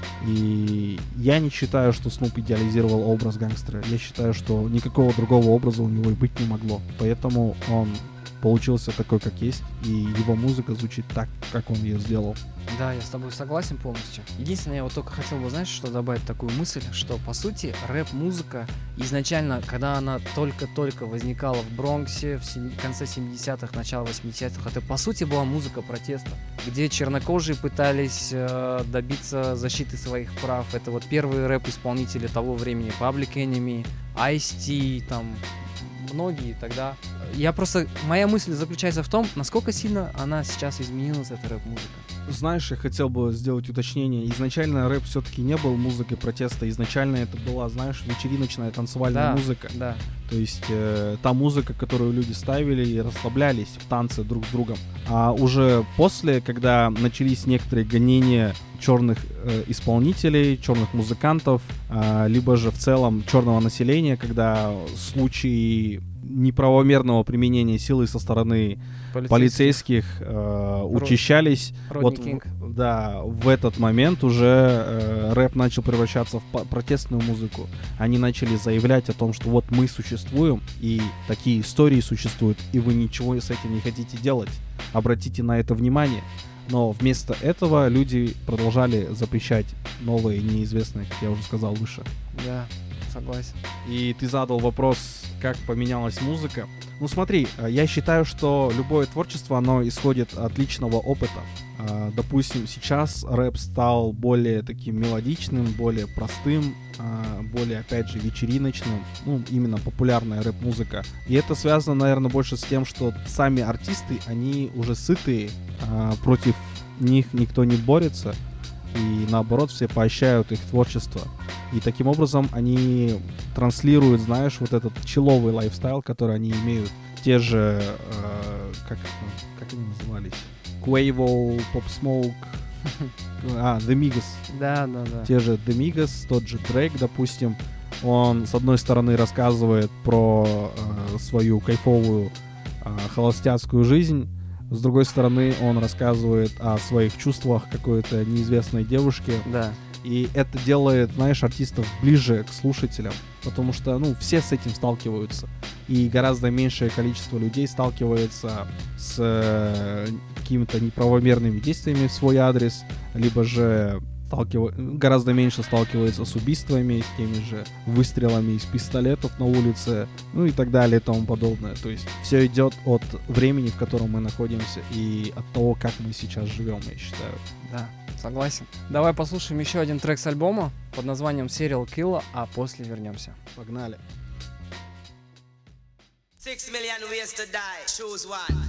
И я не считаю, что Снуп идеализировал образ гангстера. Я считаю, что никакого другого образа у него и быть не могло. Поэтому он получился такой, как есть, и его музыка звучит так, как он ее сделал. Да, я с тобой согласен полностью. Единственное, я вот только хотел бы, знаешь, что добавить такую мысль, что, по сути, рэп-музыка изначально, когда она только-только возникала в Бронксе в сем... конце семидесятых, начало восьмидесятых, это, по сути, была музыка протеста, где чернокожие пытались э, добиться защиты своих прав. Это вот первые рэп-исполнители того времени, Public Enemy, Ice-T, там, многие тогда. Я просто... Моя мысль заключается в том, насколько сильно она сейчас изменилась, эта рэп-музыка. Знаешь, я хотел бы сделать уточнение. Изначально рэп все-таки не был музыкой протеста. Изначально это была, знаешь, вечериночная танцевальная Да, музыка. да. То есть э, та музыка, которую люди ставили и расслаблялись в танце друг с другом. А уже после, когда начались некоторые гонения черных э, исполнителей, черных музыкантов, э, либо же в целом черного населения, когда случаи неправомерного применения силы со стороны полицейских э, учащались. Родни Вот, Кинг. в- да, в этот момент уже э, рэп начал превращаться в по- протестную музыку. Они начали заявлять о том, что вот мы существуем, и такие истории существуют, и вы ничего с этим не хотите делать. Обратите на это внимание. Но вместо этого люди продолжали запрещать новые, неизвестные, как я уже сказал выше. Да, согласен. И ты задал вопрос, как поменялась музыка. Ну смотри, э, я считаю, что любое творчество, оно исходит от личного опыта. А, Допустим, сейчас рэп стал более таким мелодичным, более простым, а, более, опять же, вечериночным. Ну, именно популярная рэп-музыка. И это связано, наверное, больше с тем, что сами артисты, они уже сытые, а, против них никто не борется. И наоборот, все поощряют их творчество. И таким образом они транслируют, знаешь, вот этот человый лайфстайл, который они имеют. Те же, э, как, как они назывались? Quavo, Pop Smoke, а, The Migos. Да, да, да. Те же The Migos, тот же Дрейк, допустим. Он, с одной стороны, рассказывает про э, свою кайфовую э, холостяцкую жизнь. С другой стороны, он рассказывает о своих чувствах какой-то неизвестной девушке. Да. И это делает, знаешь, артистов ближе к слушателям. Потому что, ну, все с этим сталкиваются. И гораздо меньшее количество людей сталкивается с э, какими-то неправомерными действиями в свой адрес. Либо же сталкива... гораздо меньше сталкивается с убийствами, с теми же выстрелами из пистолетов на улице, ну и так далее и тому подобное. То есть все идет от времени, в котором мы находимся, и от того, как мы сейчас живем, я считаю. Да, согласен. Давай послушаем еще один трек с альбома под названием Serial Killer, а после вернемся. Погнали. Six million ways to die. Choose one.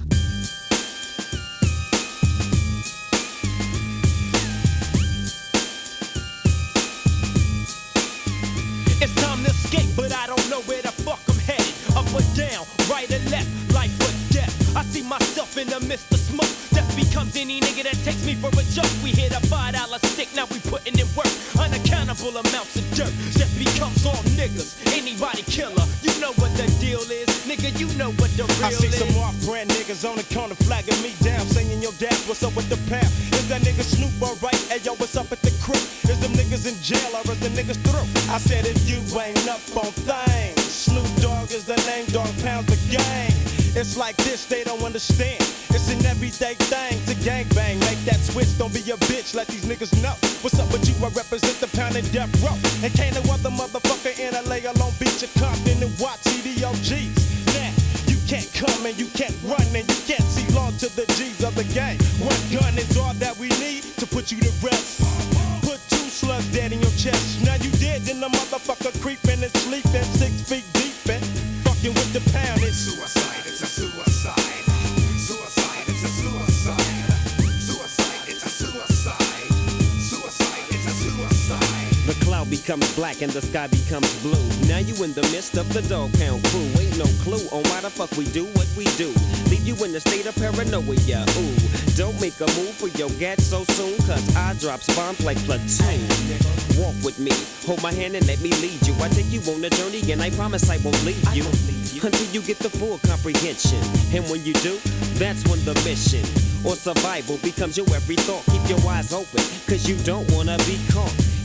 It's time to escape, but I don't know where the fuck I'm headed. Up or down, right or left, life or death. I see myself in the midst of smoke. Death becomes any nigga that takes me for a joke. We hit a five dollar stick, now we putting in work. Unaccountable amounts of dirt. Death becomes all niggas. Anybody killer, you know what the deal is. Nigga, you know what the real I see is. some off-brand niggas on the corner flagging me down, saying, yo, dad, what's up with the pound? Is that nigga Snoop alright? Hey, yo, what's up at the crib? Is them niggas in jail or is the niggas through? I said, if you ain't up on things, Snoop Dogg is the name, Dog Pound's the gang. It's like this, they don't understand. It's an everyday thing to gangbang. Make that switch, don't be a bitch, let these niggas know. What's up with you? I represent the pound and death row. And can't no other motherfucker in L A alone beat your Compton and watch C D O Gs. Now, you can't come and you can't run and you can't see long to the G's of the game. One gun is all that we need to put you to rest. Put two slugs dead in your chest. Now you dead, then the motherfucker creeping and sleeping six feet deep and fucking with the pound. It's Suicide, it's a suicide. Suicide, it's a suicide. Suicide, it's a suicide. Suicide, it's a suicide. The cloud becomes black and the sky becomes blue. Now you in the midst of the Dog Pound crew. Ain't no clue on why the fuck we do what we do. Leave you in a state of paranoia. Ooh, don't make a move for your gat so soon, cause I drops bombs like platoon. Walk with me, hold my hand and let me lead you. I take you on a journey and I promise I won't leave you until you get the full comprehension. And when you do, that's when the mission or survival becomes your every thought. Keep your eyes open, cause you don't wanna be caught.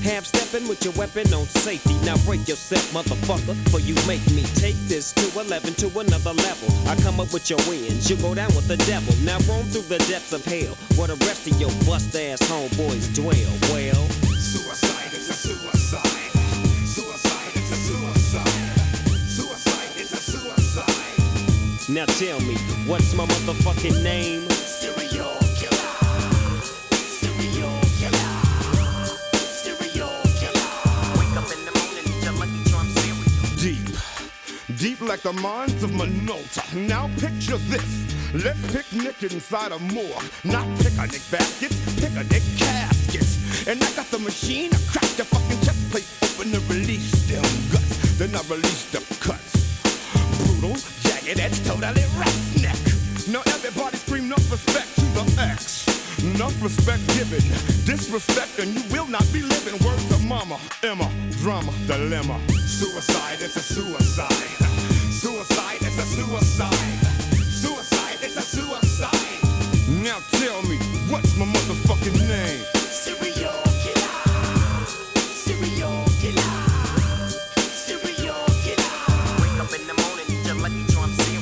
Half stepping with your weapon on safety. Now break yourself, motherfucker, for you make me take this to eleven to another level. I come up with your wins, you go down with the devil. Now roam through the depths of hell, where the rest of your bust ass homeboys dwell. Well, suicide is a suicide. Suicide is a suicide. Suicide is a suicide. Now tell me, what's my motherfucking name? Serial killer. Serial killer. Serial killer. Wake up in the morning, eat your Lucky Charm cereal. Deep, deep like the mines of Minolta. Now picture this. Let's picnic inside a morgue. Not picnic baskets, picnic caskets. And I got the machine, I crack the fucking chest plate open and release them guts. Then I release the cuts. Brutal, jagged edge, totally roughneck. Now everybody scream enough respect to the X. Enough respect given, disrespect and you will not be living. Word to mama, Emma, drama, dilemma. Suicide is a suicide. Suicide is a suicide. Suicide is a suicide. Now tell me, what's my motherfucking name? Serial killer. Serial killer. Serial killer. Wake up in the morning, eat your Lucky Charm cereal.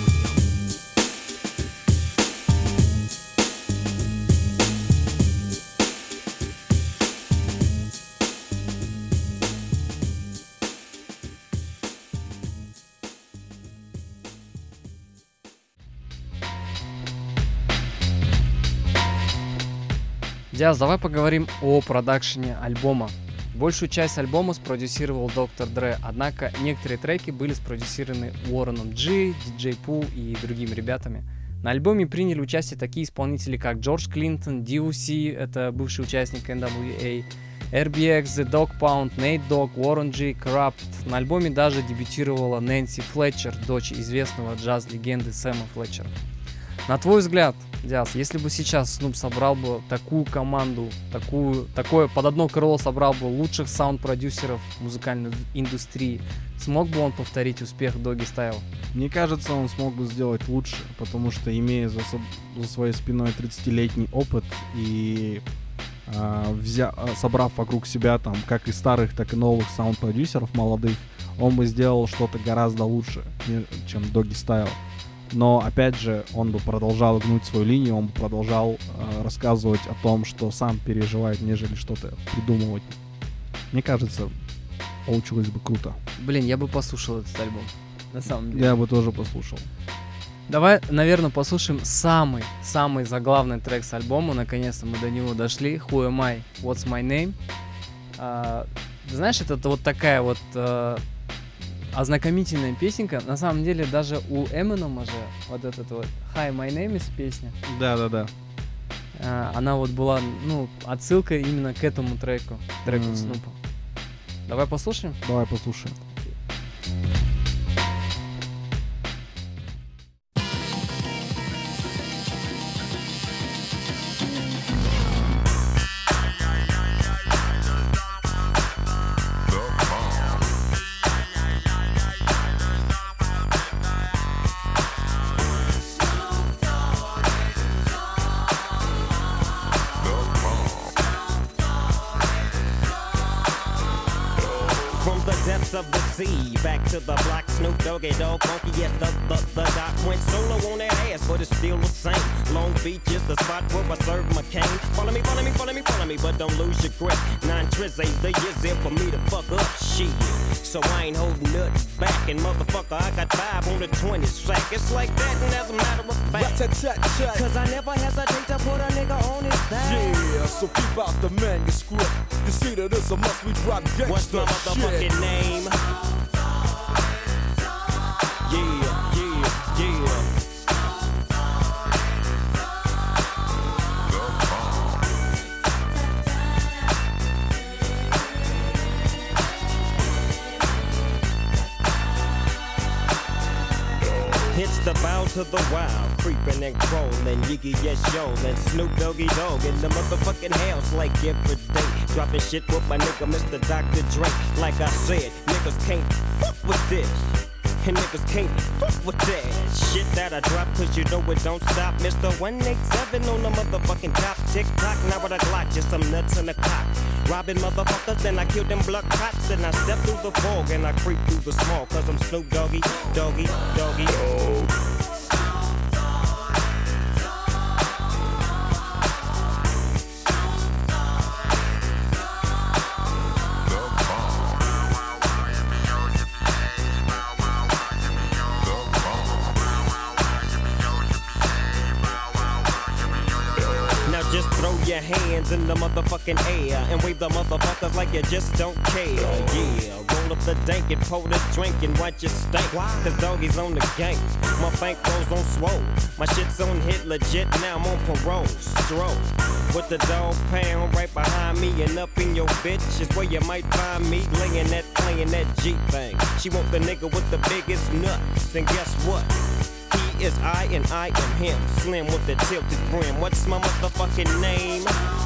Диас, давай поговорим о продакшене альбома. Большую часть альбома спродюсировал доктор Dre, однако некоторые треки были спродюсированы Уорреном G, диджей Pooh и другими ребятами. На альбоме приняли участие такие исполнители, как Джордж Клинтон, ди о си, это бывший участник эн дабл ю эй, эр би экс, The Dog Pound, Nate Dogg, Warren G, Corrupt. На альбоме даже дебютировала Нэнси Флетчер, дочь известного джаз-легенды Сэма Флетчера. На твой взгляд, Диас, если бы сейчас Snoop собрал бы такую команду, такую, такое под одно крыло собрал бы лучших саунд-продюсеров музыкальной индустрии, смог бы он повторить успех Doggy Style? Мне кажется, он смог бы сделать лучше, потому что, имея за, со- за своей спиной тридцатилетний опыт и э, взя- собрав вокруг себя там как и старых, так и новых саунд-продюсеров молодых, он бы сделал что-то гораздо лучше, чем Doggy Style. Но, опять же, он бы продолжал гнуть свою линию, он бы продолжал э, рассказывать о том, что сам переживает, нежели что-то придумывать. Мне кажется, получилось бы круто. Блин, я бы послушал этот альбом, на самом деле. Я бы тоже послушал. Давай, наверное, послушаем самый, самый заглавный трек с альбома. Наконец-то мы до него дошли. Who am I? What's my name? А, знаешь, это вот такая вот а, ознакомительная песенка. На самом деле, даже у Эминема же вот этот вот Hi, my name is песня. Да-да-да. А, она вот была, ну, отсылка именно к этому треку, треку Mm. Снупа. Давай послушаем? Давай послушаем. Of the sea, back to the block, Snoop Doggy Dogg, funky yes, the, the, the doc went solo on that ass, but it's still the same. Long Beach is the spot where I serve my cane. Follow me, follow me, follow me, follow me, but don't lose your grip. Nine trizzies, the years there for me to fuck up shit. So I ain't holding nothing back, and motherfucker, I got five on the twenty sack. It's like that, and as a matter of fact, cause I never hesitate to put a nigga on his back. Yeah, so keep out the manuscript. You see that it's a must we drop gangsta What's my motherfucking shit. name? Yeah, yeah, yeah. It's the bow to the wild, creeping and crawling, Yiggy yes yo, and Snoop Doggy Dogg in the motherfucking house like every day. Dropping shit with my nigga Mister Doctor Dre. Like I said, niggas can't fuck with this. And niggas can't fuck with that shit that I drop, cause you know it don't stop. Mister one eighty-seven on the motherfucking top. Tick tock, now with a Glock, just some nuts in the cock. Robbing motherfuckers, then I kill them blood cops. And I step through the fog and I creep through the small, cause I'm Snoop Doggy, Doggy, Doggy. Just throw your hands in the motherfucking air and wave the motherfuckers like you just don't care. Yeah, roll up the dank and pour the drink and watch it stink. Cause doggies on the gang, my bank rolls on swole. My shit's on hit legit, now I'm on parole. Stroll with the dog pound right behind me and up in your bitch is where you might find me laying that, playing that G thing. She want the nigga with the biggest nuts, and guess what? He is I and I am him. Slim with the tilted brim. What's my motherfucking name?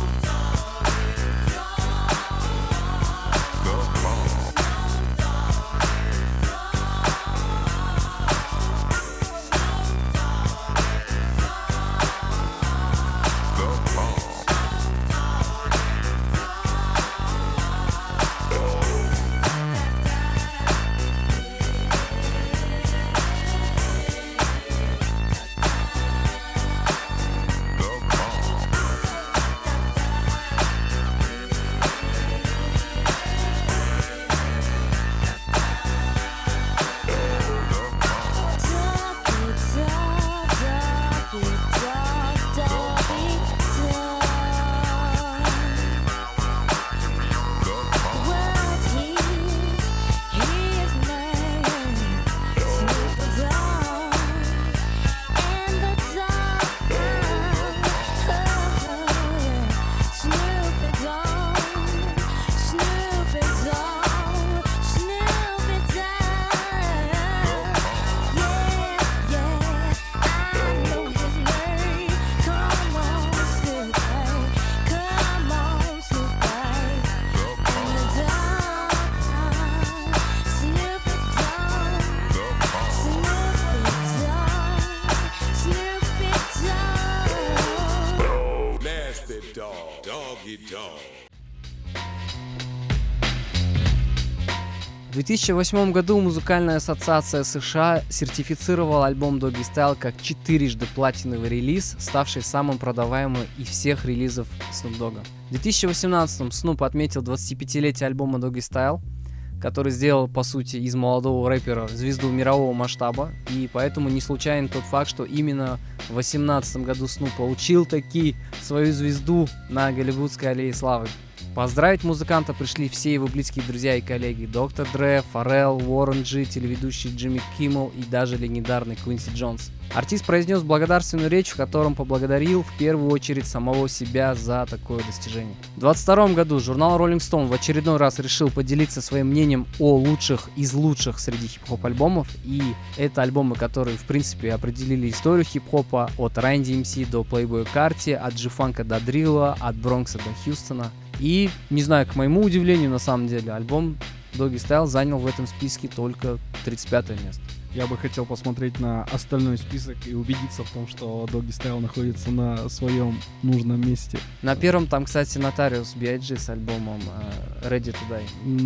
В две тысячи восьмом году музыкальная ассоциация США сертифицировала альбом Doggy Style как четырежды платиновый релиз, ставший самым продаваемым из всех релизов Snoop Dogg. В две тысячи восемнадцатом Snoop отметил двадцатипятилетие альбома Doggy Style, который сделал, по сути, из молодого рэпера звезду мирового масштаба, и поэтому не случайен тот факт, что именно в две тысячи восемнадцатом году Snoop получил таки свою звезду на Голливудской аллее славы. Поздравить музыканта пришли все его близкие друзья и коллеги: доктор Dre, Фаррелл, Уоррен Джи, телеведущий Джимми Киммел и даже легендарный Квинси Джонс. Артист произнес благодарственную речь, в котором поблагодарил в первую очередь самого себя за такое достижение. В двадцать втором году журнал Rolling Stone в очередной раз решил поделиться своим мнением о лучших из лучших среди хип-хоп альбомов, и это альбомы, которые в принципе определили историю хип-хопа от Run ди эм си до Playboi Carti, от G-Funk до Дрилла, от Бронкса до Хьюстона. И, не знаю, к моему удивлению, на самом деле, альбом Doggy Style занял в этом списке только тридцать пятое место. Я бы хотел посмотреть на остальной список и убедиться в том, что Doggy Style находится на своем нужном месте. На первом там, кстати, Notorious би ай джи с альбомом uh, Ready to Die.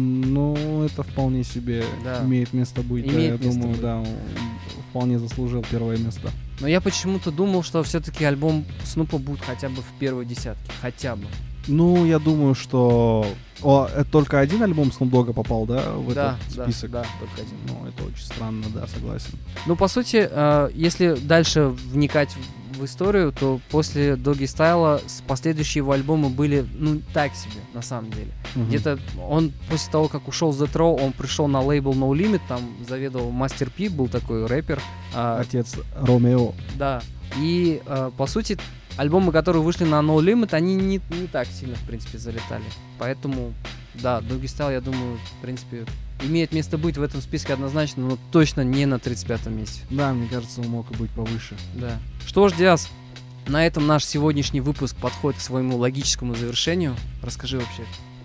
Ну, это вполне себе да. имеет место быть. Имеет да, я место думаю, быть. да, он вполне заслужил первое место. Но я почему-то думал, что все-таки альбом Снупа будет хотя бы в первой десятке. Хотя бы. Ну, я думаю, что... О, это только один альбом Snoop Dogg попал, да, в да, этот список? Да, да, только один. Ну, это очень странно, да, согласен. Ну, по сути, э, если дальше вникать в, в историю, то после Doggy Style последующие его альбомы были, ну, так себе, на самом деле. Uh-huh. Где-то он, после того, как ушел с Death Row, он пришел на лейбл No Limit, там заведовал Master P, был такой рэпер. Э, Отец Ромео. Да, и, э, по сути... Альбомы, которые вышли на No Limit, они не, не так сильно, в принципе, залетали. Поэтому, да, Doggy Style, я думаю, в принципе, имеет место быть в этом списке однозначно, но точно не на тридцать пятом месте. Да, мне кажется, он мог и быть повыше. Да. Что ж, Диас, на этом наш сегодняшний выпуск подходит к своему логическому завершению. Расскажи вообще,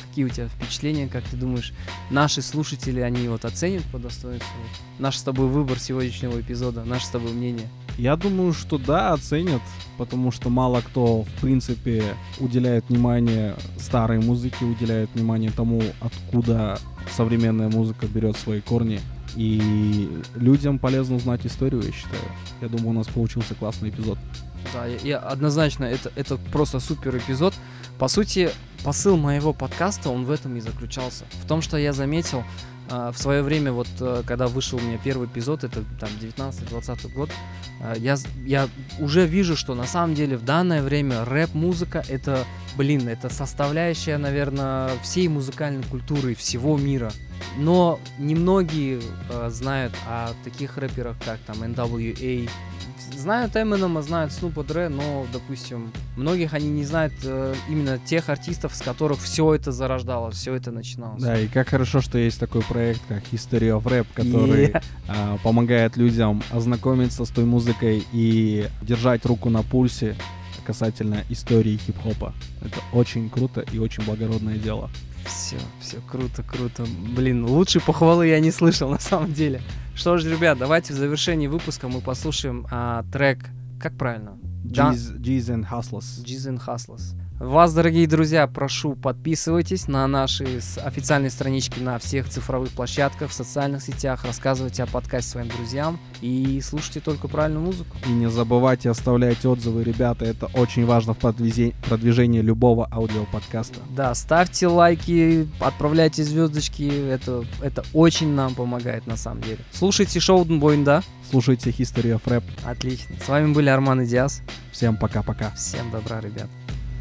Какие у тебя впечатления, как ты думаешь, наши слушатели, они вот оценят по достоинству наш с тобой выбор сегодняшнего эпизода, наше с тобой мнение? Я думаю, что да, оценят, потому что мало кто, в принципе, уделяет внимание старой музыке, уделяет внимание тому, откуда современная музыка берет свои корни. И людям полезно узнать историю, я считаю. Я думаю, у нас получился классный эпизод. Да, я, я однозначно, это, это просто супер эпизод. По сути, посыл моего подкаста, он в этом и заключался. В том, что я заметил э, в свое время, вот э, когда вышел у меня первый эпизод, это там девятнадцатый-двадцатый год, э, я, я уже вижу, что на самом деле в данное время рэп-музыка это, блин, это составляющая, наверное, всей музыкальной культуры всего мира. Но немногие э, знают о таких рэперах, как там эн дабл ю эй. Знают Эминема, знают Снупа Дре, но, допустим, многих они не знают э, именно тех артистов, с которых все это зарождалось, все это начиналось. Да, и как хорошо, что есть такой проект, как History of Rap, который yeah. э, помогает людям ознакомиться с той музыкой и держать руку на пульсе касательно истории хип-хопа. Это очень круто и очень благородное дело. Все, все круто, круто. Блин, лучшей похвалы я не слышал на самом деле. Что ж, ребят, давайте в завершении выпуска мы послушаем а, трек, как правильно? G's and Hustlers. G's and Hustlers. Вас, дорогие друзья, прошу, подписывайтесь на наши официальные странички на всех цифровых площадках, в социальных сетях, рассказывайте о подкасте своим друзьям и слушайте только правильную музыку. И не забывайте оставлять отзывы, ребята, это очень важно в продвижении любого аудиоподкаста. Да, ставьте лайки, отправляйте звездочки, это, это очень нам помогает на самом деле. Слушайте шоу Донбойн, да? Слушайте History of Rap. Отлично. С вами были Арман и Диас. Всем пока-пока. Всем добра, ребят.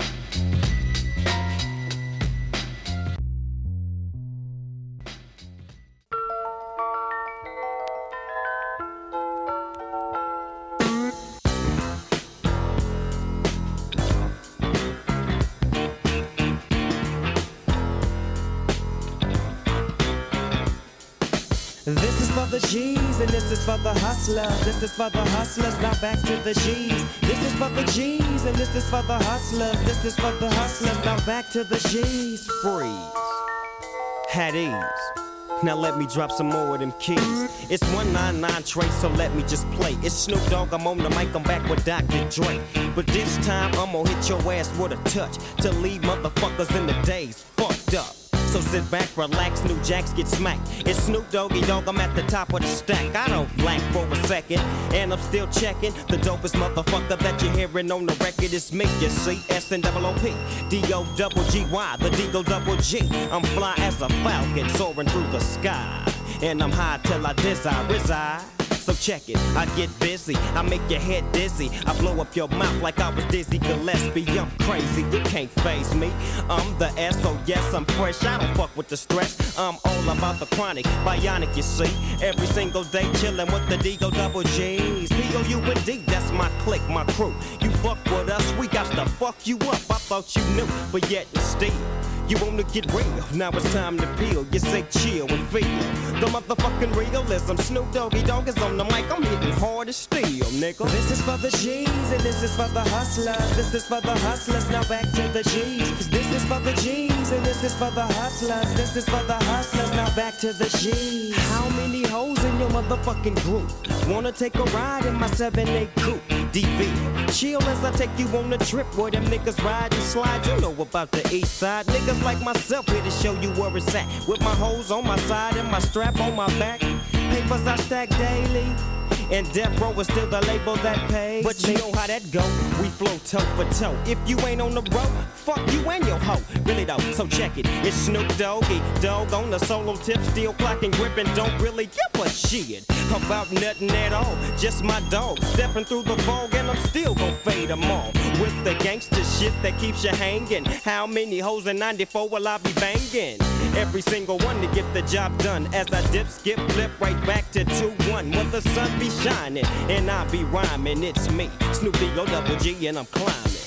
This is for the G's and this is for the hustlers. This is for the hustlers, now back to the G's. This is for the G's and this is for the hustlers. This is for the hustlers, now back to the G's. Freeze. Had ease. Now let me drop some more of them keys. It's one nine nine Trace, so let me just play. It's Snoop Dogg, I'm on the mic, I'm back with Doctor Dre. But this time I'm gonna hit your ass with a touch to leave motherfuckers in the days fucked up. So sit back, relax, new jacks get smacked. It's Snoop Doggy Dogg, I'm at the top of the stack. I don't blank for a second, and I'm still checking. The dopest motherfucker that you're hearing on the record is me, you see. S N O O P, D O double G Y, the D-Go double G. I'm fly as a falcon soaring through the sky. And I'm high till I desire reside. So check it, I get busy, I make your head dizzy, I blow up your mouth like I was Dizzy Gillespie. I'm crazy, you can't faze me. I'm the S, so yes, I'm fresh, I don't fuck with the stress. I'm all about the chronic, bionic, you see. Every single day chillin' with the D-Go double G's. P O U N D, that's my clique, my crew. You fuck with us, we got to fuck you up. I thought you knew, but yet and still you wanna get real, now it's time to peel. You say chill and feel the motherfucking realism. Snoop Doggy Dogg is on the mic, I'm hitting hard as steel, nigga. This is for the G's and this is for the hustlers. This is for the hustlers, now back to the G's. This is for the G's and this is for the hustlers. This is for the hustlers, now back to the G's. How many hoes in your motherfucking group wanna take a ride in my seven eight coupe? D V, chill as I take you on a trip where them niggas ride and slide. You know about the east side. Niggas like myself here to show you where it's at. With my hoes on my side and my strap on my back. Papers I stack daily. And Death Row is still the label that pays. But you know how that go, we flow toe for toe. If you ain't on the road, fuck you and your hoe. Really though, so check it, it's Snoop Doggy Dogg on the solo tip, still clocking, gripping, don't really give a shit about nothing at all. Just my dog, stepping through the fog and I'm still gon' fade them all. With the gangster shit that keeps you hanging. How many hoes in ninety-four will I be banging? Every single one to get the job done. As I dip, skip, flip right back to two one. When the sun be shining and I be rhyming, it's me, Snoop D O double G, and I'm climbing.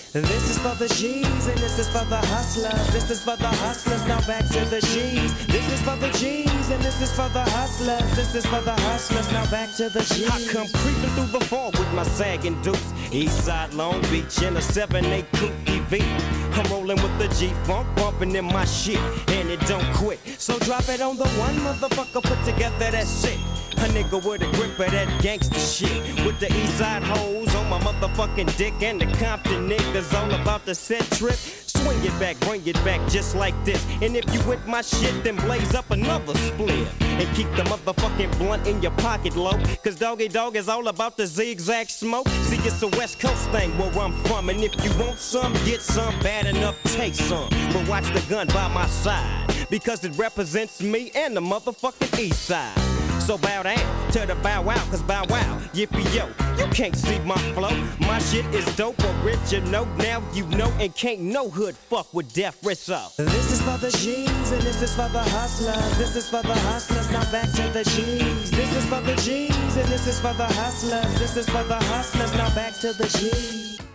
This is for the G's and this is for the hustlers. This is for the hustlers, now back to the G's. This is for the G's and this is for the hustlers. This is for the hustlers, now back to the G's. I come creeping through the fall with my sagging dukes. Eastside Long Beach in a seven eight coupe E V. I'm rolling with the G-Funk, bumping in my shit, and it don't quit. So drop it on the one motherfucker, put together that shit. A nigga with a grip of that gangsta shit. With the Eastside hoes on my motherfucking dick, and the Compton niggas all about the set trip. Swing it back, bring it back just like this. And if you with my shit, then blaze up another split. And keep the motherfucking blunt in your pocket low. Cause Doggy Dog is all about the zigzag smoke. See, it's a West Coast thing where I'm from. And if you want some, get some, bad enough, take some. But watch the gun by my side, because it represents me and the motherfucking East Side. So bow down to the bow wow, cause bow wow, yippee yo, you can't see my flow. My shit is dope, original, now you know, and can't no hood fuck with Death Rizzo. This is for the G's and this is for the hustlers. This is for the hustlers, now back to the G's. This is for the G's and this is for the hustlers. This is for the hustlers, now back to the G's.